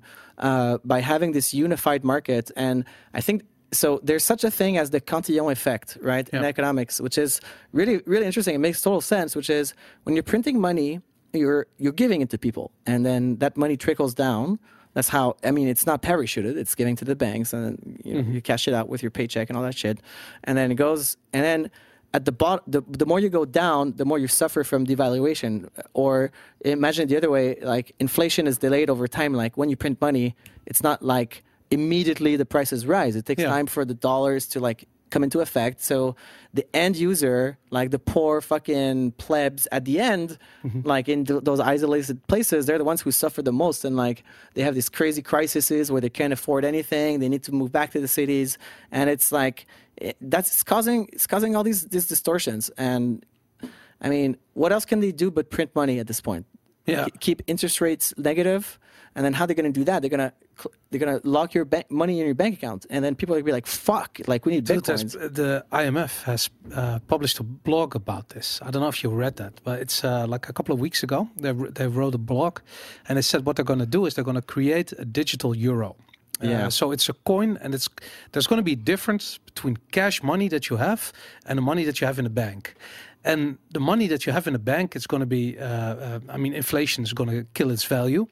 by having this unified market. And I think so there's such a thing as the Cantillon effect, right, in economics, which is really, really interesting. It makes total sense, which is when you're printing money, you're giving it to people, and then that money trickles down. That's how, I mean, it's not parachuted. It's giving to the banks, and you cash it out with your paycheck and all that shit. And then it goes, and then at the bottom, the more you go down, the more you suffer from devaluation. Or imagine the other way, like, inflation is delayed over time. Like, when you print money, it's not like immediately the prices rise. It takes time for the dollars to like come into effect. So the end user, like the poor fucking plebs at the end, like in those isolated places, they're the ones who suffer the most. And like, they have these crazy crises where they can't afford anything. They need to move back to the cities. And it's like, it's causing all these distortions. And I mean, what else can they do but print money at this point? Yeah. Keep interest rates negative. And then how they're going to do that? They're gonna lock your money in your bank account, and then people are gonna be like, "Fuck! Like, we need bitcoins." The IMF has published a blog about this. I don't know if you read that, but it's like a couple of weeks ago. They wrote a blog, and they said what they're going to do is they're going to create a digital euro. So it's a coin, and there's going to be a difference between cash money that you have and the money that you have in the bank. And the money that you have in the bank, it's going to be, inflation is going to kill its value.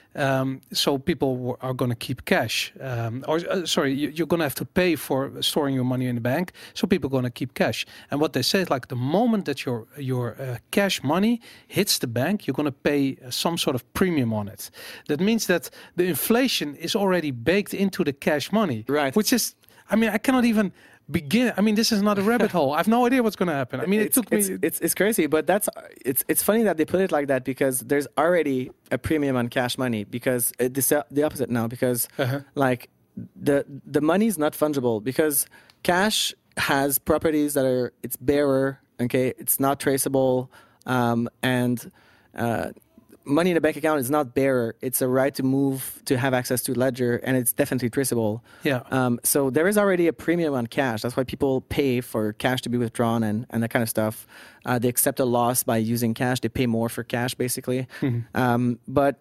So people are going to keep cash. You're going to have to pay for storing your money in the bank. So people are going to keep cash. And what they say is, like, the moment that your cash money hits the bank, you're going to pay some sort of premium on it. That means that the inflation is already baked into the cash money. Right. Which is, I cannot even begin. This is not a rabbit hole. I have no idea what's going to happen. It took me. It's crazy, but it's funny that they put it like that, because there's already a premium on cash money, because it's the opposite now, because like the money is not fungible, because cash has properties that it's bearer, okay, it's not traceable, and money in a bank account is not bearer. It's a right to move, to have access to ledger, and it's definitely traceable. Yeah. So there is already a premium on cash. That's why people pay for cash to be withdrawn and that kind of stuff. They accept a loss by using cash. They pay more for cash, basically. But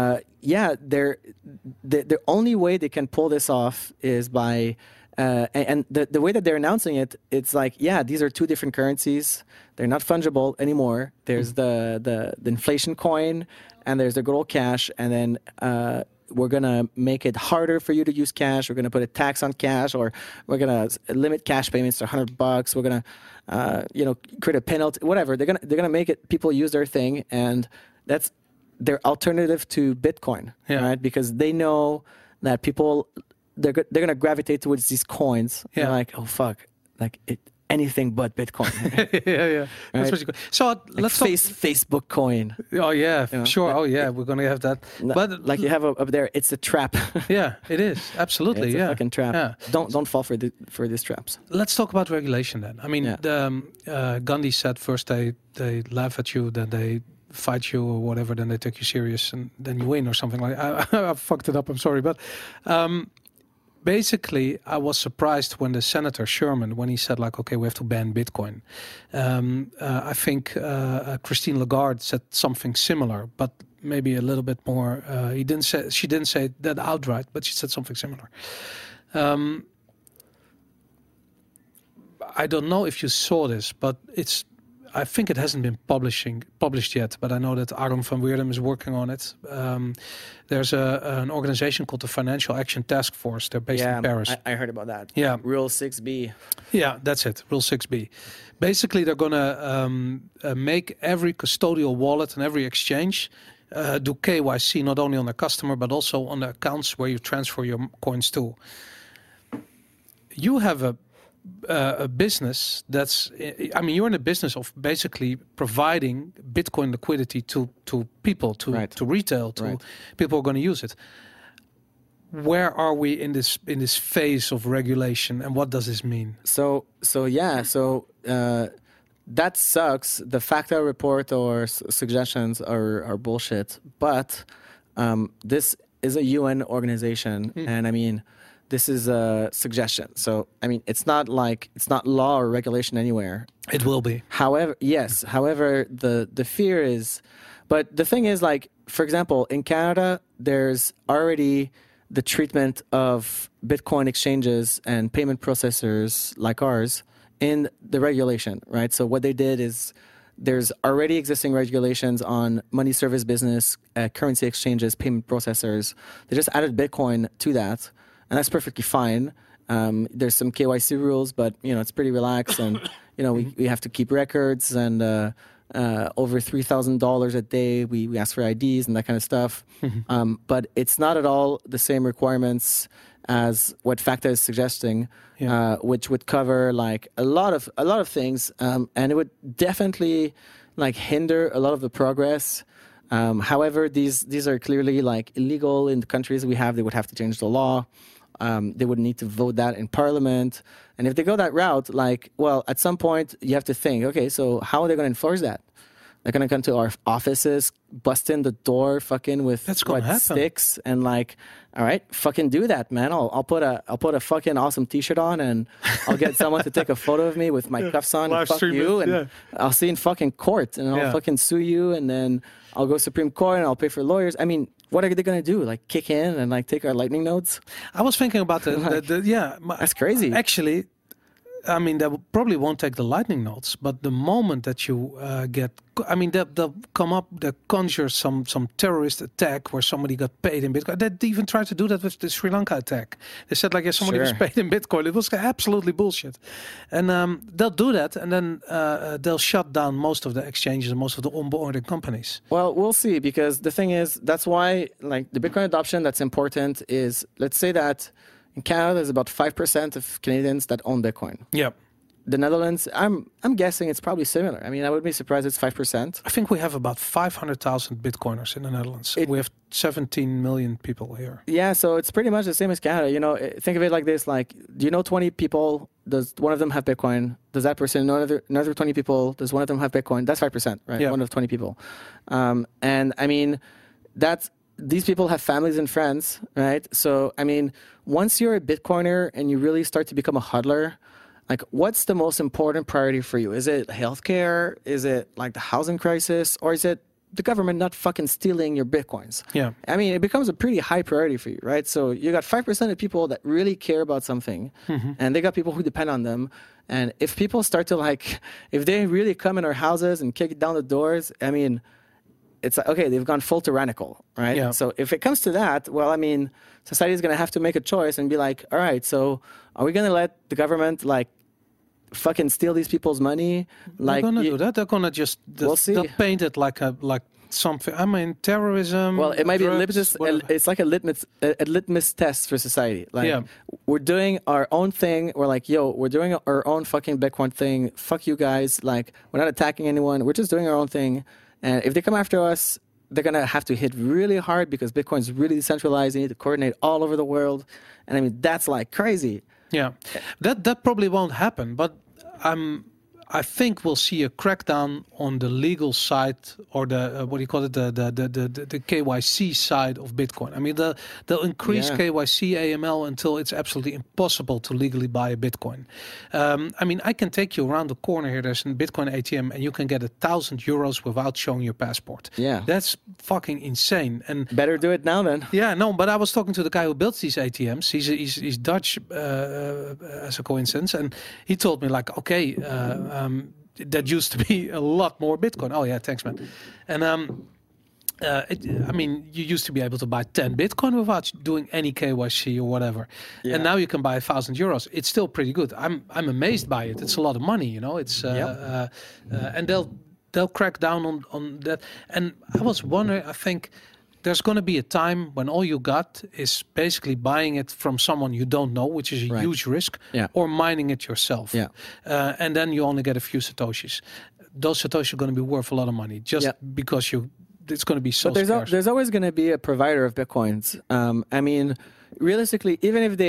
the only way they can pull this off is by and the way that they're announcing it, it's like, these are two different currencies. They're not fungible anymore. There's the inflation coin, and there's the good old cash. And then we're going to make it harder for you to use cash. We're going to put a tax on cash, or we're going to limit cash payments to $100. We're going to, create a penalty, whatever. They're going to make it, people use their thing. And that's their alternative to Bitcoin, right? Because they know that people, they're going to gravitate towards these coins. They're like, oh, fuck, like anything but Bitcoin. Right? That's what you call. So let's talk Facebook coin. Oh yeah, sure. Oh yeah, we're gonna have that. No, but like you have up there, it's a trap. Yeah, it is absolutely. It's a fucking trap. Yeah. Don't fall for these traps. Let's talk about regulation then. Gandhi said first they laugh at you, then they fight you or whatever, then they take you serious, and then you win or something like that. I fucked it up. I'm sorry, but. Basically, I was surprised when the Senator Sherman, when he said, like, okay, we have to ban Bitcoin. I think Christine Lagarde said something similar, but maybe a little bit more. She didn't say that outright, but she said something similar. I don't know if you saw this, but I think it hasn't been published yet, but I know that Aaron van Weerdem is working on it. There's an organization called the Financial Action Task Force. They're based in Paris. I heard about that. Yeah. Rule 6B. Yeah, that's it. Rule 6B. Basically, they're going to make every custodial wallet and every exchange do KYC, not only on the customer, but also on the accounts where you transfer your coins to. You have a business you're in the business of basically providing Bitcoin liquidity to people, to retail, to people who are going to use it. Where are we in this phase of regulation, and what does this mean? So that sucks. The FACTA report or suggestions are bullshit. But this is a UN organization, and I mean, this is a suggestion. So I mean, it's not law or regulation anywhere. It will be. However, yes. However, the fear is, but the thing is, like, for example, in Canada, there's already the treatment of Bitcoin exchanges and payment processors like ours in the regulation, right? So what they did is there's already existing regulations on money service business, currency exchanges, payment processors. They just added Bitcoin to that, and that's perfectly fine. There's some KYC rules, but it's pretty relaxed, and we have to keep records, and over $3,000 a day we ask for IDs and that kind of stuff. But it's not at all the same requirements as what FACTA is suggesting, which would cover like a lot of things, and it would definitely like hinder a lot of the progress. However, these are clearly like illegal in the countries we have. They would have to change the law. They would need to vote that in parliament. And if they go that route, like, well, at some point you have to think, okay, so how are they going to enforce that? They're going to come to our offices, bust in the door, fucking with sticks, and like, all right, fucking do that, man. I'll put a fucking awesome T-shirt on, and I'll get someone to take a photo of me with my cuffs on, and fuck you, and I'll see in fucking court, and I'll fucking sue you, and then I'll go Supreme Court, and I'll pay for lawyers. I mean, what are they going to do? Like kick in and like take our lightning nodes? I was thinking about that's crazy. Actually, I mean, they probably won't take the lightning nodes, but the moment that you they'll come up, they'll conjure some terrorist attack where somebody got paid in Bitcoin. They even tried to do that with the Sri Lanka attack. They said like, somebody was paid in Bitcoin. It was absolutely bullshit. And they'll do that, and then they'll shut down most of the exchanges and most of the onboarding companies. Well, we'll see, because the thing is, that's why like the Bitcoin adoption that's important is, let's say that in Canada, there's about 5% of Canadians that own Bitcoin. Yep. The Netherlands, I'm guessing it's probably similar. I mean, I would be surprised it's 5%. I think we have about 500,000 Bitcoiners in the Netherlands. We have 17 million people here. Yeah, so it's pretty much the same as Canada. Think of it like this: like, do you know 20 people? Does one of them have Bitcoin? Does that person know another 20 people? Does one of them have Bitcoin? That's 5%, right? Yeah. One of 20 people. And I mean, these people have families and friends, right? So, I mean, once you're a Bitcoiner and you really start to become a hodler, like, what's the most important priority for you? Is it healthcare? Is it like the housing crisis? Or is it the government not fucking stealing your Bitcoins? Yeah. I mean, it becomes a pretty high priority for you, right? So you got 5% of people that really care about something, and they got people who depend on them. And if people start to if they really come in our houses and kick down the doors, I mean, it's like, okay, they've gone full tyrannical, right? Yeah. So if it comes to that, well, I mean, society is going to have to make a choice and be like, all right, so are we going to let the government fucking steal these people's money? They're going to do that. They're going to just we'll see. They'll paint it like something. I mean, terrorism. Well, it might drugs, be it's like a litmus test for society. Like, we're doing our own thing. We're like, we're doing our own fucking Bitcoin thing. Fuck you guys. Like, we're not attacking anyone. We're just doing our own thing. And if they come after us, they're going to have to hit really hard, because Bitcoin is really decentralized. They need to coordinate all over the world. And I mean, that's like crazy. Yeah, that probably won't happen. But I think we'll see a crackdown on the legal side, or the what do you call it, the KYC side of Bitcoin. I mean, they'll increase KYC AML until it's absolutely impossible to legally buy a Bitcoin. I mean, I can take you around the corner here. There's a Bitcoin ATM, and you can get €1,000 without showing your passport. Yeah, that's fucking insane. And better do it now then. Yeah, no, but I was talking to the guy who built these ATMs. He's Dutch, as a coincidence, and he told me like, okay. that used to be a lot more Bitcoin. Oh yeah, thanks, man. And you used to be able to buy 10 Bitcoin without doing any KYC or whatever, and now you can buy 1,000 euros. It's still pretty good. I'm amazed by it. It's a lot of money, you know. It's and they'll crack down on that. And I was wondering, I think there's going to be a time when all you got is basically buying it from someone you don't know, which is a huge risk, or mining it yourself. And then you only get a few Satoshis. Those Satoshis are going to be worth a lot of money just because it's going to be so scarce. There's always going to be a provider of Bitcoins. I mean, realistically, even if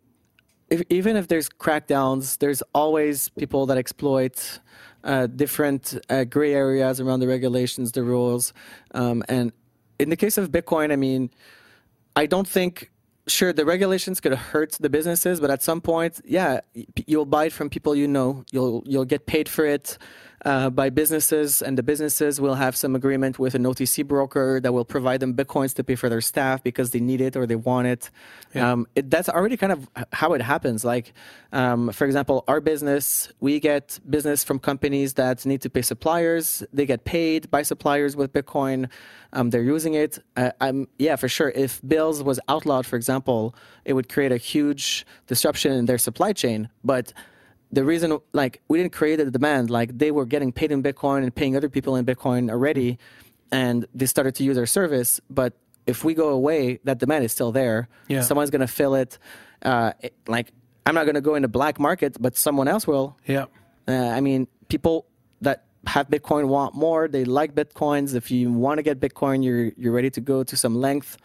there's crackdowns, there's always people that exploit different gray areas around the regulations, the rules. And in the case of Bitcoin, I mean, I don't think, sure, the regulations could hurt the businesses, but at some point, you'll buy it from people you know. You'll get paid for it by businesses, and the businesses will have some agreement with an OTC broker that will provide them Bitcoins to pay for their staff because they need it or they want it. That's already kind of how it happens. Like, for example, our business, we get business from companies that need to pay suppliers. They get paid by suppliers with Bitcoin. They're using it. For sure. If Bills was outlawed, for example, it would create a huge disruption in their supply chain. But the reason, like, we didn't create the demand, like, they were getting paid in Bitcoin and paying other people in Bitcoin already, and they started to use our service. But if we go away, that demand is still there. Someone's going to fill it. Like, I'm not going to go in the black market, but someone else will. I mean, people that have Bitcoin want more. They like Bitcoins. If you want to get Bitcoin, you're ready to go to some length.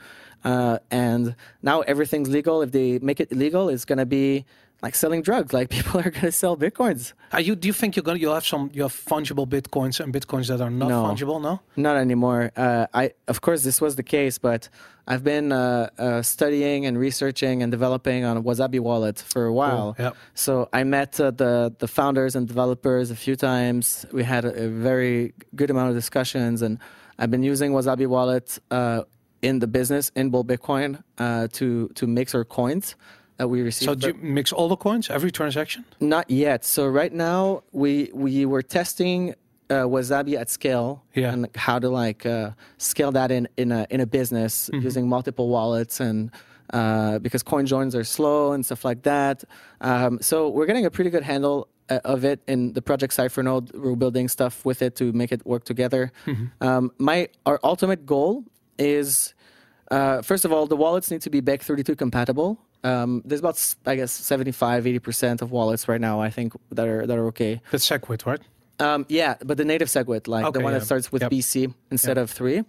And now everything's legal. If they make it illegal, it's going to be like selling drugs. Like, people are going to sell Bitcoins. Do you think you'll have fungible Bitcoins and Bitcoins that are not fungible? No, not anymore. Of course, this was the case, but I've been studying and researching and developing on Wasabi Wallet for a while. Cool. So I met the founders and developers a few times. We had a very good amount of discussions, and I've been using Wasabi Wallet in the business in Bull Bitcoin to mix our coins that we receive. So do you mix all the coins, every transaction? Not yet. So right now we were testing Wasabi at scale and how to scale that in a business using multiple wallets, and because coin joins are slow and stuff like that. So we're getting a pretty good handle of it in the project Cipher-Node. We're building stuff with it to make it work together. Our ultimate goal is, first of all, the wallets need to be Bech32 compatible. There's about, I guess, 75-80% of wallets right now, I think, that are okay. That's SegWit, right? But the native SegWit, the one that starts with BC instead of 3.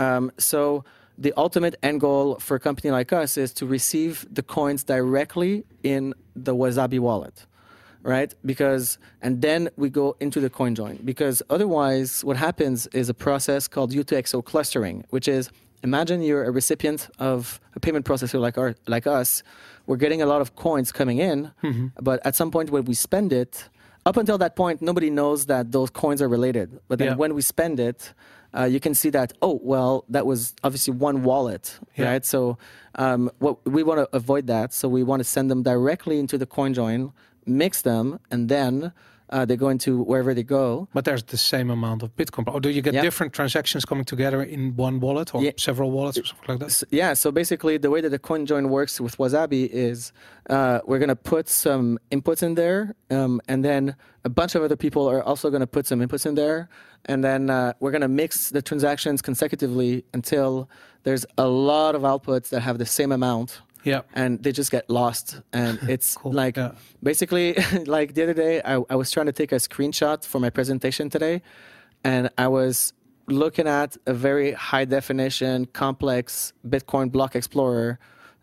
So the ultimate end goal for a company like us is to receive the coins directly in the Wasabi wallet, right? And then we go into the coin join. Because otherwise, what happens is a process called U2XO clustering, which is, imagine you're a recipient of a payment processor like us. We're getting a lot of coins coming in, but at some point when we spend it, up until that point, nobody knows that those coins are related. But then when we spend it, you can see that, that was obviously one wallet, right? So what we want to avoid that. So we want to send them directly into the coin join, mix them, and then they go into wherever they go. But there's the same amount of Bitcoin. Or do you get different transactions coming together in one wallet or several wallets or something like that? So basically the way that the coin join works with Wasabi is we're going to put some inputs in there, and then a bunch of other people are also going to put some inputs in there. And then we're going to mix the transactions consecutively until there's a lot of outputs that have the same amount. And they just get lost. And it's basically, like the other day, I was trying to take a screenshot for my presentation today, and I was looking at a very high definition, complex Bitcoin block explorer,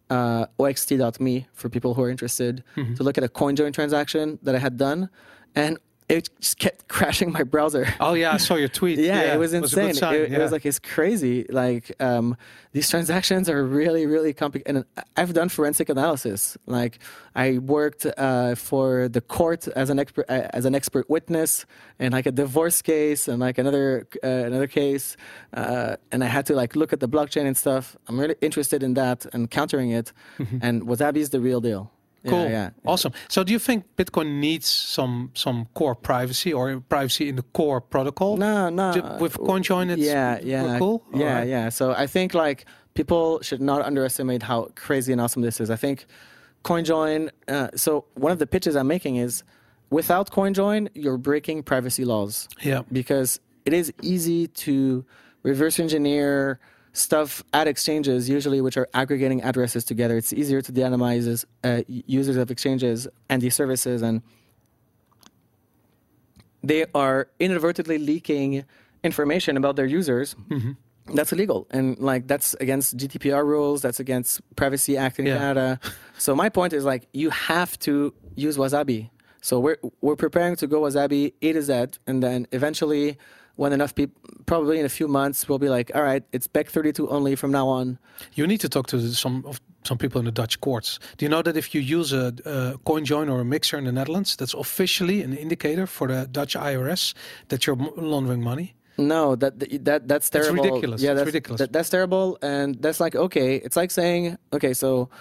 oxt.me, for people who are interested, to look at a coin join transaction that I had done. And it just kept crashing my browser. Oh yeah, I saw your tweet. It was insane. It was like, it's crazy. Like these transactions are really, really complicated. And I've done forensic analysis. Like I worked for the court as an expert witness in like a divorce case and like another case. And I had to like look at the blockchain and stuff. I'm really interested in that and countering it. And Wasabi is the real deal. Cool. Yeah. Awesome. So do you think Bitcoin needs some core privacy or privacy in the core protocol? No. With CoinJoin, we're cool? Yeah. So I think like people should not underestimate how crazy and awesome this is. I think CoinJoin, so one of the pitches I'm making is without CoinJoin, you're breaking privacy laws. Yeah. Because it is easy to reverse engineer stuff at exchanges, usually which are aggregating addresses together. It's easier to de-anonymize users of exchanges and these services, and they are inadvertently leaking information about their users. Mm-hmm. That's illegal, and like that's against GDPR rules. That's against Privacy Act in Canada. So my point is like you have to use Wasabi. So we're preparing to go Wasabi A to Z, and then eventually, when enough people, probably in a few months, we'll be like, all right, it's Bech32 only from now on. You need to talk to some people in the Dutch courts. Do you know that if you use a CoinJoin or a mixer in the Netherlands, that's officially an indicator for the Dutch IRS that you're laundering money? No, that's terrible. It's ridiculous. Yeah, it's ridiculous. That's terrible, and that's like okay. It's like saying okay, so.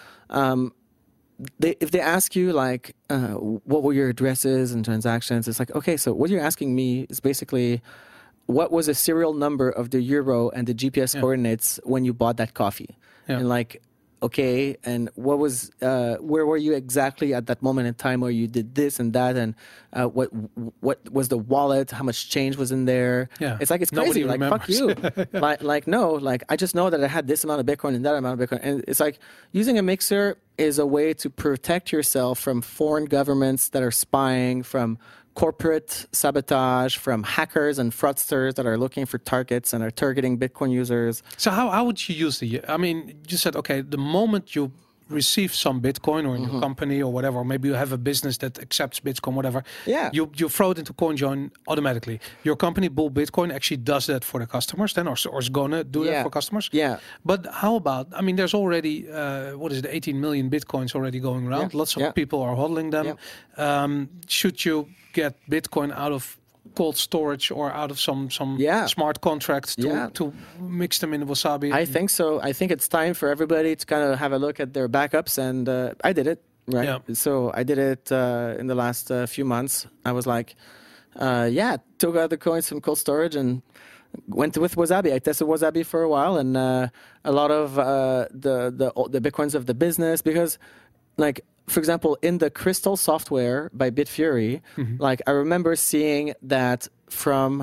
If they ask you like what were your addresses and transactions, it's like okay, so what you're asking me is basically what was the serial number of the euro and the GPS coordinates when you bought that coffee, and like okay, and what was where were you exactly at that moment in time where you did this and that, and what was the wallet, how much change was in there? It's like it's crazy. Nobody like remembers. Fuck you. like no, like I just know that I had this amount of Bitcoin and that amount of Bitcoin, and it's like using a mixer is a way to protect yourself from foreign governments that are spying, from corporate sabotage, from hackers and fraudsters that are looking for targets and are targeting Bitcoin users. So how would you use I mean, you said, okay, the moment you receive some Bitcoin or in your company or whatever, or maybe you have a business that accepts Bitcoin, whatever, you throw it into CoinJoin automatically. Your company, Bull Bitcoin, actually does that for the customers then, or is going to do that for customers. Yeah. But how about, I mean, there's already, 18 million Bitcoins already going around. Lots of people are hodling them. Should you get Bitcoin out of cold storage or out of some smart contracts to mix them in Wasabi? I think so. I think it's time for everybody to kind of have a look at their backups, and I did it, right? Yeah. So I did it in the last few months. I was like, took out the coins from cold storage and went with Wasabi. I tested Wasabi for a while, and a lot of the Bitcoins of the business, because like, for example, in the Crystal software by Bitfury, like I remember seeing that from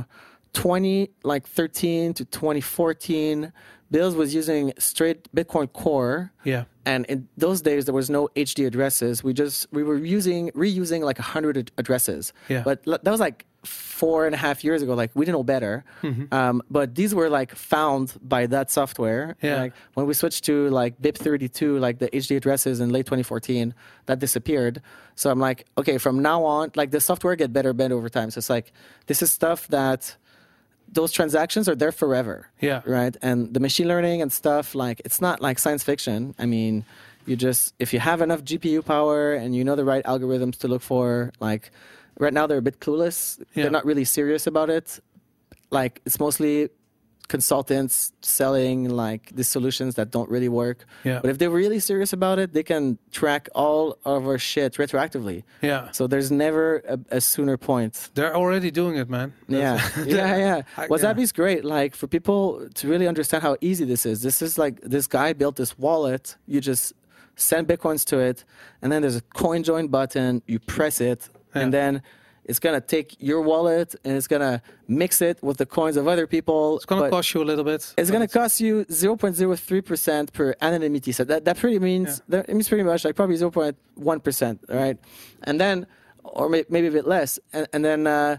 2013 to 2014, Bills was using straight Bitcoin Core. Yeah. And in those days, there was no HD addresses. We were reusing like 100 addresses. Yeah. But that was like 4.5 years ago. Like we didn't know better. But these were like found by that software. Yeah. Like when we switched to like BIP32, like the HD addresses in late 2014, that disappeared. So I'm like, okay, from now on, like the software get better over time. So it's like, this is stuff that those transactions are there forever. Yeah. Right. And the machine learning and stuff, like it's not like science fiction. I mean, if you have enough GPU power and you know the right algorithms to look for, like right now they're a bit clueless. Yeah. They're not really serious about it. Like it's mostly consultants selling like these solutions that don't really work. Yeah. But if they're really serious about it, they can track all of our shit retroactively. Yeah. So there's never a sooner point. They're already doing it, man. Yeah. Wasabi's great. Like for people to really understand how easy this is. This is like this guy built this wallet. You just send Bitcoins to it, and then there's a CoinJoin button. You press it, and then it's going to take your wallet and it's going to mix it with the coins of other people. It's going to cost you a little bit. It's going to cost you 0.03% per anonymity. So that pretty means, it means pretty much like probably 0.1%, right? And then, or maybe a bit less. And then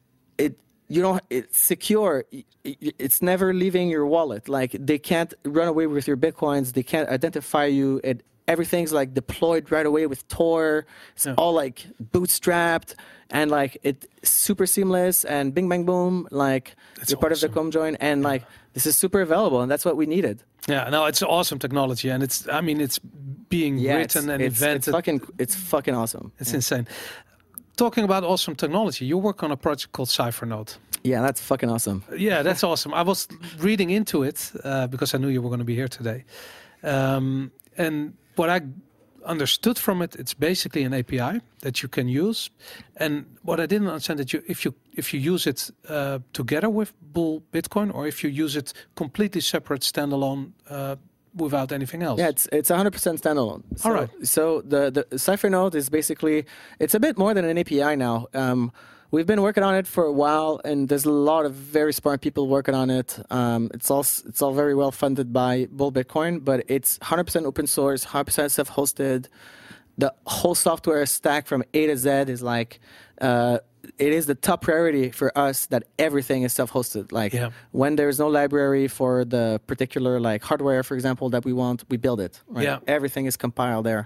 it's secure. It's never leaving your wallet. Like they can't run away with your Bitcoins. They can't identify you. Everything's like deployed right away with Tor. It's all like bootstrapped and like it's super seamless and bing bang boom. Like you're part of the CoinJoin, and like this is super available, and that's what we needed. Yeah, no, it's awesome technology, and it's being written and invented. It's fucking awesome. It's insane. Talking about awesome technology, you work on a project called Cyphernode. Yeah, that's fucking awesome. Yeah, that's awesome. I was reading into it because I knew you were going to be here today, and what I understood from it, it's basically an API that you can use. And what I didn't understand that if you use it together with Bull Bitcoin, or if you use it completely separate, standalone, without anything else. Yeah, it's 100% standalone. So, All right. So the Cyphernode is basically, it's a bit more than an API now. We've been working on it for a while, and there's a lot of very smart people working on it. It's all very well funded by Bull Bitcoin, but it's 100% open source, 100% self-hosted. The whole software stack from A to Z is like, it is the top priority for us that everything is self-hosted. Like when there's no library for the particular like hardware, for example, that we want, we build it. Right? Yeah. Everything is compiled there.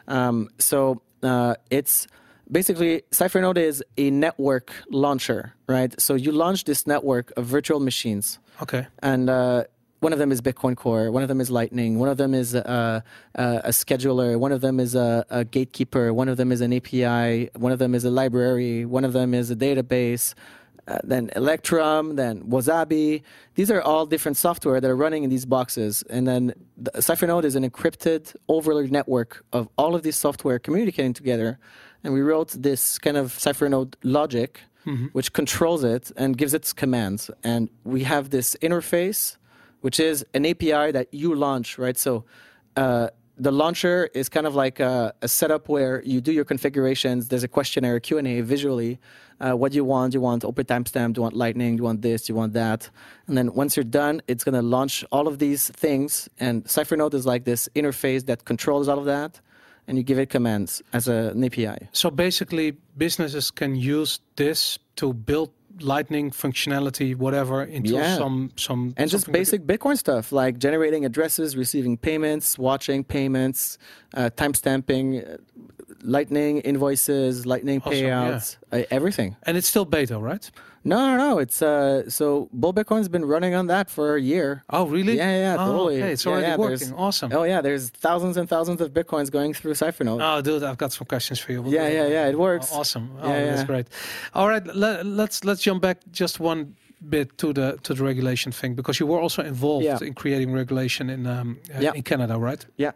So it's basically, Cyphernode is a network launcher, right? So you launch this network of virtual machines. Okay. And one of them is Bitcoin Core, one of them is Lightning, one of them is a scheduler, one of them is a gatekeeper, one of them is an API, one of them is a library, one of them is a database, then Electrum, then Wasabi. These are all different software that are running in these boxes. And then the Cyphernode is an encrypted overlay network of all of these software communicating together. And we wrote this kind of Cyphernode logic, which controls it and gives it commands. And we have this interface, which is an API that you launch, right? So the launcher is kind of like a setup where you do your configurations. There's a questionnaire, Q&A visually. What do you want? Do you want open timestamp? Do you want Lightning? Do you want this? Do you want that? And then once you're done, it's going to launch all of these things. And Cyphernode is like this interface that controls all of that. And you give it commands as an API. So basically, businesses can use this to build Lightning functionality, whatever, into some and just basic Bitcoin stuff like generating addresses, receiving payments, watching payments, timestamping, Lightning invoices, Lightning payouts, everything. And it's still beta, right? No. It's so Bull Bitcoin's been running on that for a year. Oh, really? Yeah, totally. Okay, it's already working. Awesome. Oh yeah, there's thousands and thousands of Bitcoins going through Cyphernode. Oh, dude, I've got some questions for you. Yeah, it works. Awesome. That's great. All right, let's jump back just one bit to the regulation thing, because you were also involved in creating regulation in Canada, right? Yeah.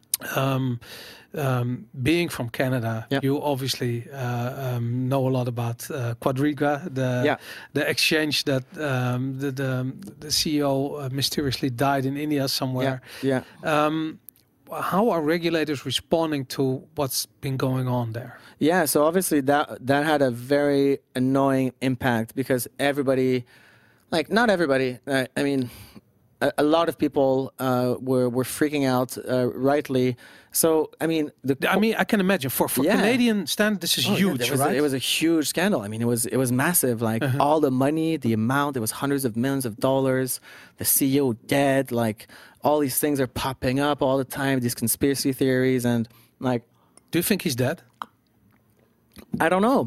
Being from Canada, you obviously know a lot about Quadriga, the exchange that the CEO mysteriously died in India somewhere. How are regulators responding to what's been going on there? Yeah, so obviously that had a very annoying impact, because everybody, like not everybody, I mean, a lot of people were freaking out, rightly. So, I mean, I can imagine for Canadian standard, this is huge, right? It was a huge scandal. I mean, it was massive. Like all the money, the amount, it was hundreds of millions of dollars. The CEO dead. Like all these things are popping up all the time. These conspiracy theories and like. Do you think he's dead? I don't know.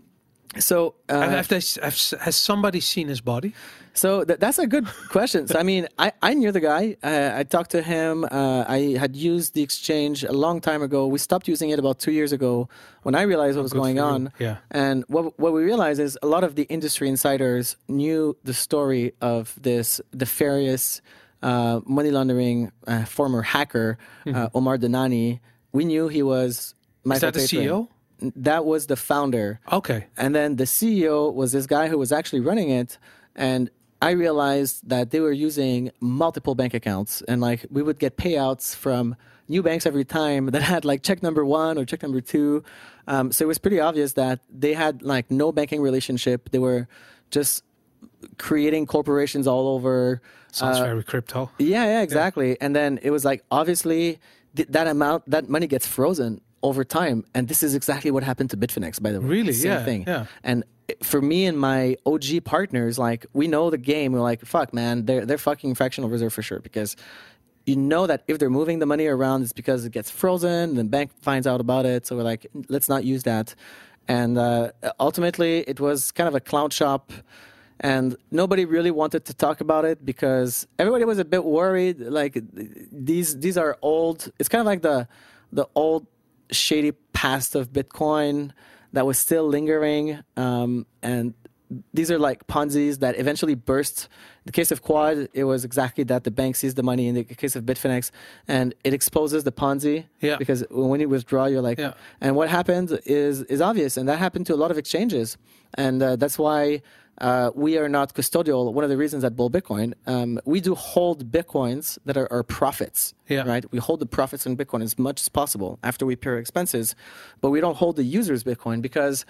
Has somebody seen his body? So that's a good question. So, I mean, I knew the guy. I talked to him. I had used the exchange a long time ago. We stopped using it about 2 years ago when I realized what was going on. Yeah. And what we realized is a lot of the industry insiders knew the story of this nefarious money laundering former hacker, Omar Dhanani. We knew he was Michael Is that the CEO? That was the founder. Okay. And then the CEO was this guy who was actually running it. And I realized that they were using multiple bank accounts, and like we would get payouts from new banks every time that had like check number 1 or check number 2. So it was pretty obvious that they had like no banking relationship. They were just creating corporations all over. Sounds very crypto. Yeah, exactly. And then it was like, obviously that money gets frozen over time. And this is exactly what happened to Bitfinex, by the way. Really? Same thing. Yeah. And for me and my OG partners, like we know the game. We're like, fuck, man, they're fucking fractional reserve for sure, because you know that if they're moving the money around, it's because it gets frozen. The bank finds out about it. So we're like, let's not use that. And ultimately, it was kind of a clown shop. And nobody really wanted to talk about it because everybody was a bit worried. Like these are old. It's kind of like the old shady past of Bitcoin that was still lingering. And these are like Ponzi's that eventually burst. In the case of Quad, it was exactly that. The bank sees the money. In the case of Bitfinex, and it exposes the Ponzi. Yeah. Because when you withdraw, you're like, and what happened is obvious, and that happened to a lot of exchanges, and that's why we are not custodial. One of the reasons at Bull Bitcoin, we do hold Bitcoins that are profits. Yeah. Right. We hold the profits in Bitcoin as much as possible after we pay our expenses, but we don't hold the user's Bitcoin because,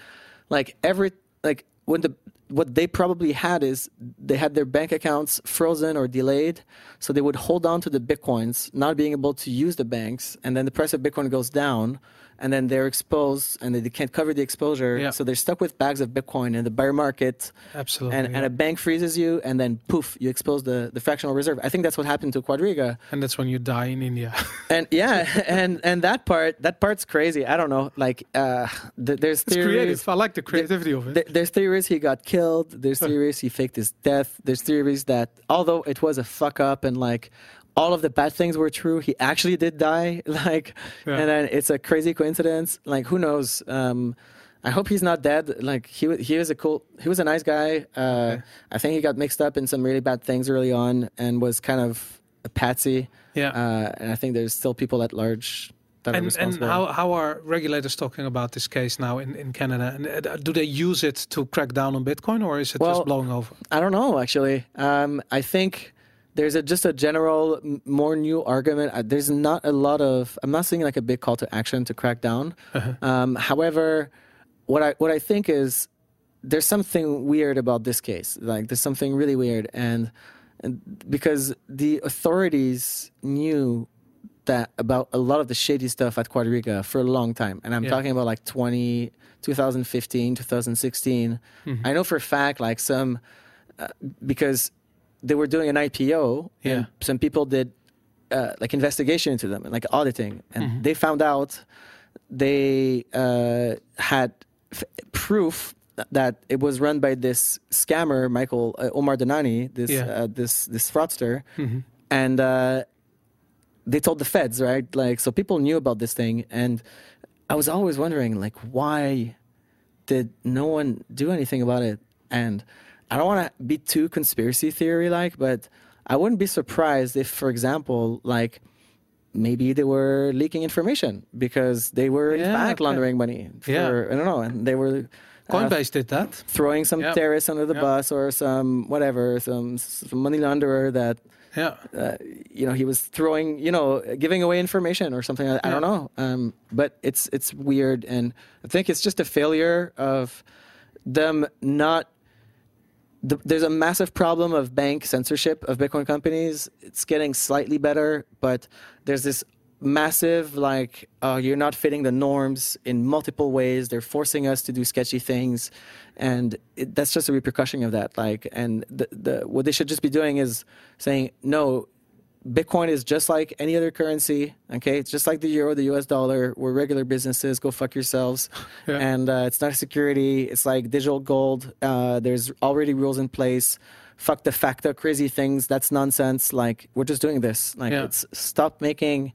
what they probably had is they had their bank accounts frozen or delayed, so they would hold on to the Bitcoins, not being able to use the banks, and then the price of Bitcoin goes down, and then they're exposed, and they can't cover the exposure, so they're stuck with bags of Bitcoin in the bear market. Absolutely. And a bank freezes you, and then poof, you expose the fractional reserve. I think that's what happened to Quadriga. And that's when you die in India. And and that part's crazy. I don't know. Like there's theories. It's creative. I like the creativity of it. There's theories he got killed. There's theories he faked his death. There's theories that although it was a fuck up and like all of the bad things were true, he actually did die. And then it's a crazy coincidence. Like who knows? I hope he's not dead. Like he was a nice guy. I think he got mixed up in some really bad things early on and was kind of a patsy. Yeah. And I think there's still people at large that are responsible. And how are regulators talking about this case now in Canada? And do they use it to crack down on Bitcoin, or is it just blowing over? I don't know, actually. I think there's just a general, more new argument. There's not a lot of. I'm not seeing like a big call to action to crack down. However, what I think is there's something weird about this case. Like there's something really weird, and because the authorities knew that about a lot of the shady stuff at Quadriga for a long time, and I'm talking about like 2015, 2016. I know for a fact, like some because they were doing an IPO, and some people did like investigation into them and like auditing, and they found out they had proof that it was run by this scammer, Omar Danani, this fraudster, and they told the feds, right? Like, so people knew about this thing, and I was always wondering, like, why did no one do anything about it? And I don't want to be too conspiracy theory-like, but I wouldn't be surprised if, for example, like, maybe they were leaking information because they were in fact laundering money for, I don't know, and they were Coinbase did that, throwing some terrorists under the bus or some whatever, some money launderer that he was throwing, giving away information or something. I don't know, but it's weird, and I think it's just a failure of them not. There's a massive problem of bank censorship of Bitcoin companies. It's getting slightly better, but there's this massive, like, you're not fitting the norms in multiple ways. They're forcing us to do sketchy things, and that's just a repercussion of that. Like, and what they should just be doing is saying, no, Bitcoin is just like any other currency, okay? It's just like the euro, the US dollar. We're regular businesses. Go fuck yourselves. And it's not a security. It's like digital gold. There's already rules in place. Fuck the FACTA crazy things. That's nonsense. Like, we're just doing this. Like, it's stop making...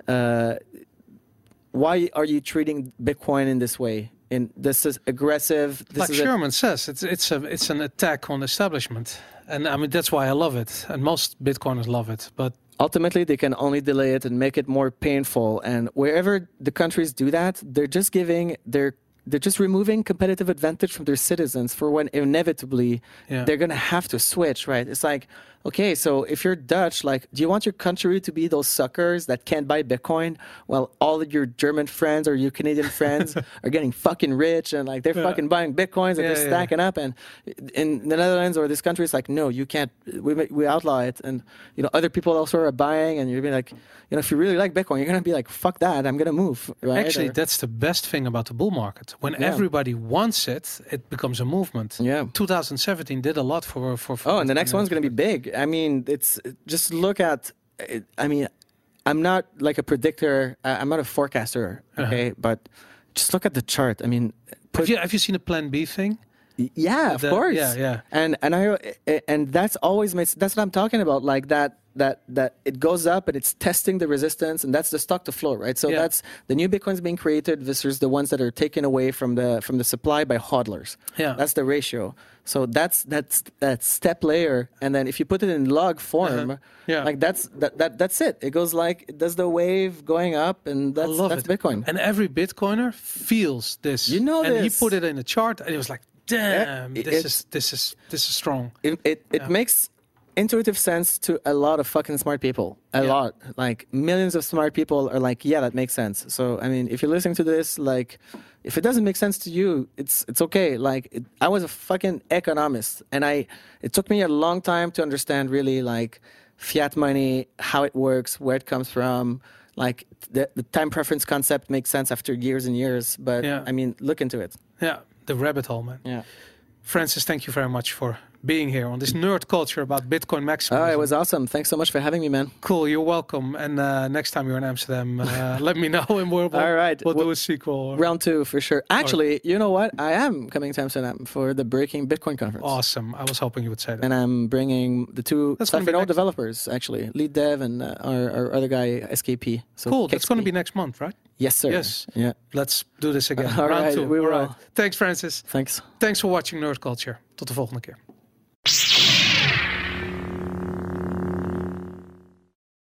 why are you treating Bitcoin in this way? This is aggressive. Like Sherman says, it's an attack on establishment. And I mean, that's why I love it. And most Bitcoiners love it. But ultimately, they can only delay it and make it more painful. And wherever the countries do that, they're just removing competitive advantage from their citizens for when inevitably they're going to have to switch, right? It's like, okay, so if you're Dutch, like, do you want your country to be those suckers that can't buy Bitcoin while all of your German friends or your Canadian friends are getting fucking rich and like they're fucking buying Bitcoins and they're stacking up? And in the Netherlands or this country, it's like, no, you can't, we outlaw it. And, other people also are buying, and you're being like, if you really like Bitcoin, you're going to be like, fuck that, I'm going to move, right? Actually, that's the best thing about the bull market. When everybody wants it, it becomes a movement. 2017 did a lot for and the next one's going to be big. I mean, it's just look at. I mean, I'm not like a predictor. I'm not a forecaster. Okay, but just look at the chart. I mean, have you seen a Plan B thing? Yeah, of course. Yeah. And that's always that's what I'm talking about. Like that that it goes up and it's testing the resistance, and that's the stock to flow, right? So that's the new Bitcoins being created versus the ones that are taken away from the supply by hodlers. Yeah. That's the ratio. So that's that step layer, and then if you put it in log form, like that's it. It goes like it does the wave going up, and that's Bitcoin. And every Bitcoiner feels this. You know and this. he put it in a chart, and it was like, damn, this is strong. It makes intuitive sense to a lot of fucking smart people. A lot. Like millions of smart people are like, yeah, that makes sense. So I mean, if you're listening to this, like, if it doesn't make sense to you, it's okay. Like, I was a fucking economist, and it took me a long time to understand really like fiat money, how it works, where it comes from. Like the time preference concept makes sense after years and years. But I mean, look into it. Yeah, the rabbit hole, man. Yeah. Francis, thank you very much for being here on this nerd culture about Bitcoin maximalism. Oh, it was awesome. Thanks so much for having me, man. Cool, you're welcome. And next time you're in Amsterdam, let me know, and we'll do a sequel. Round 2 for sure. Actually, you know what? I am coming to Amsterdam for the Breaking Bitcoin conference. Awesome. I was hoping you would say that. And I'm bringing the two Safino developers, actually, Lead Dev and our other guy, SKP. So cool. That's going to be next month, right? Yes, sir. Yes. Yeah. Let's do this again. All Round right, 2. we will. All right. Thanks, Francis. Thanks. Thanks for watching Nerd Culture. Tot de volgende keer.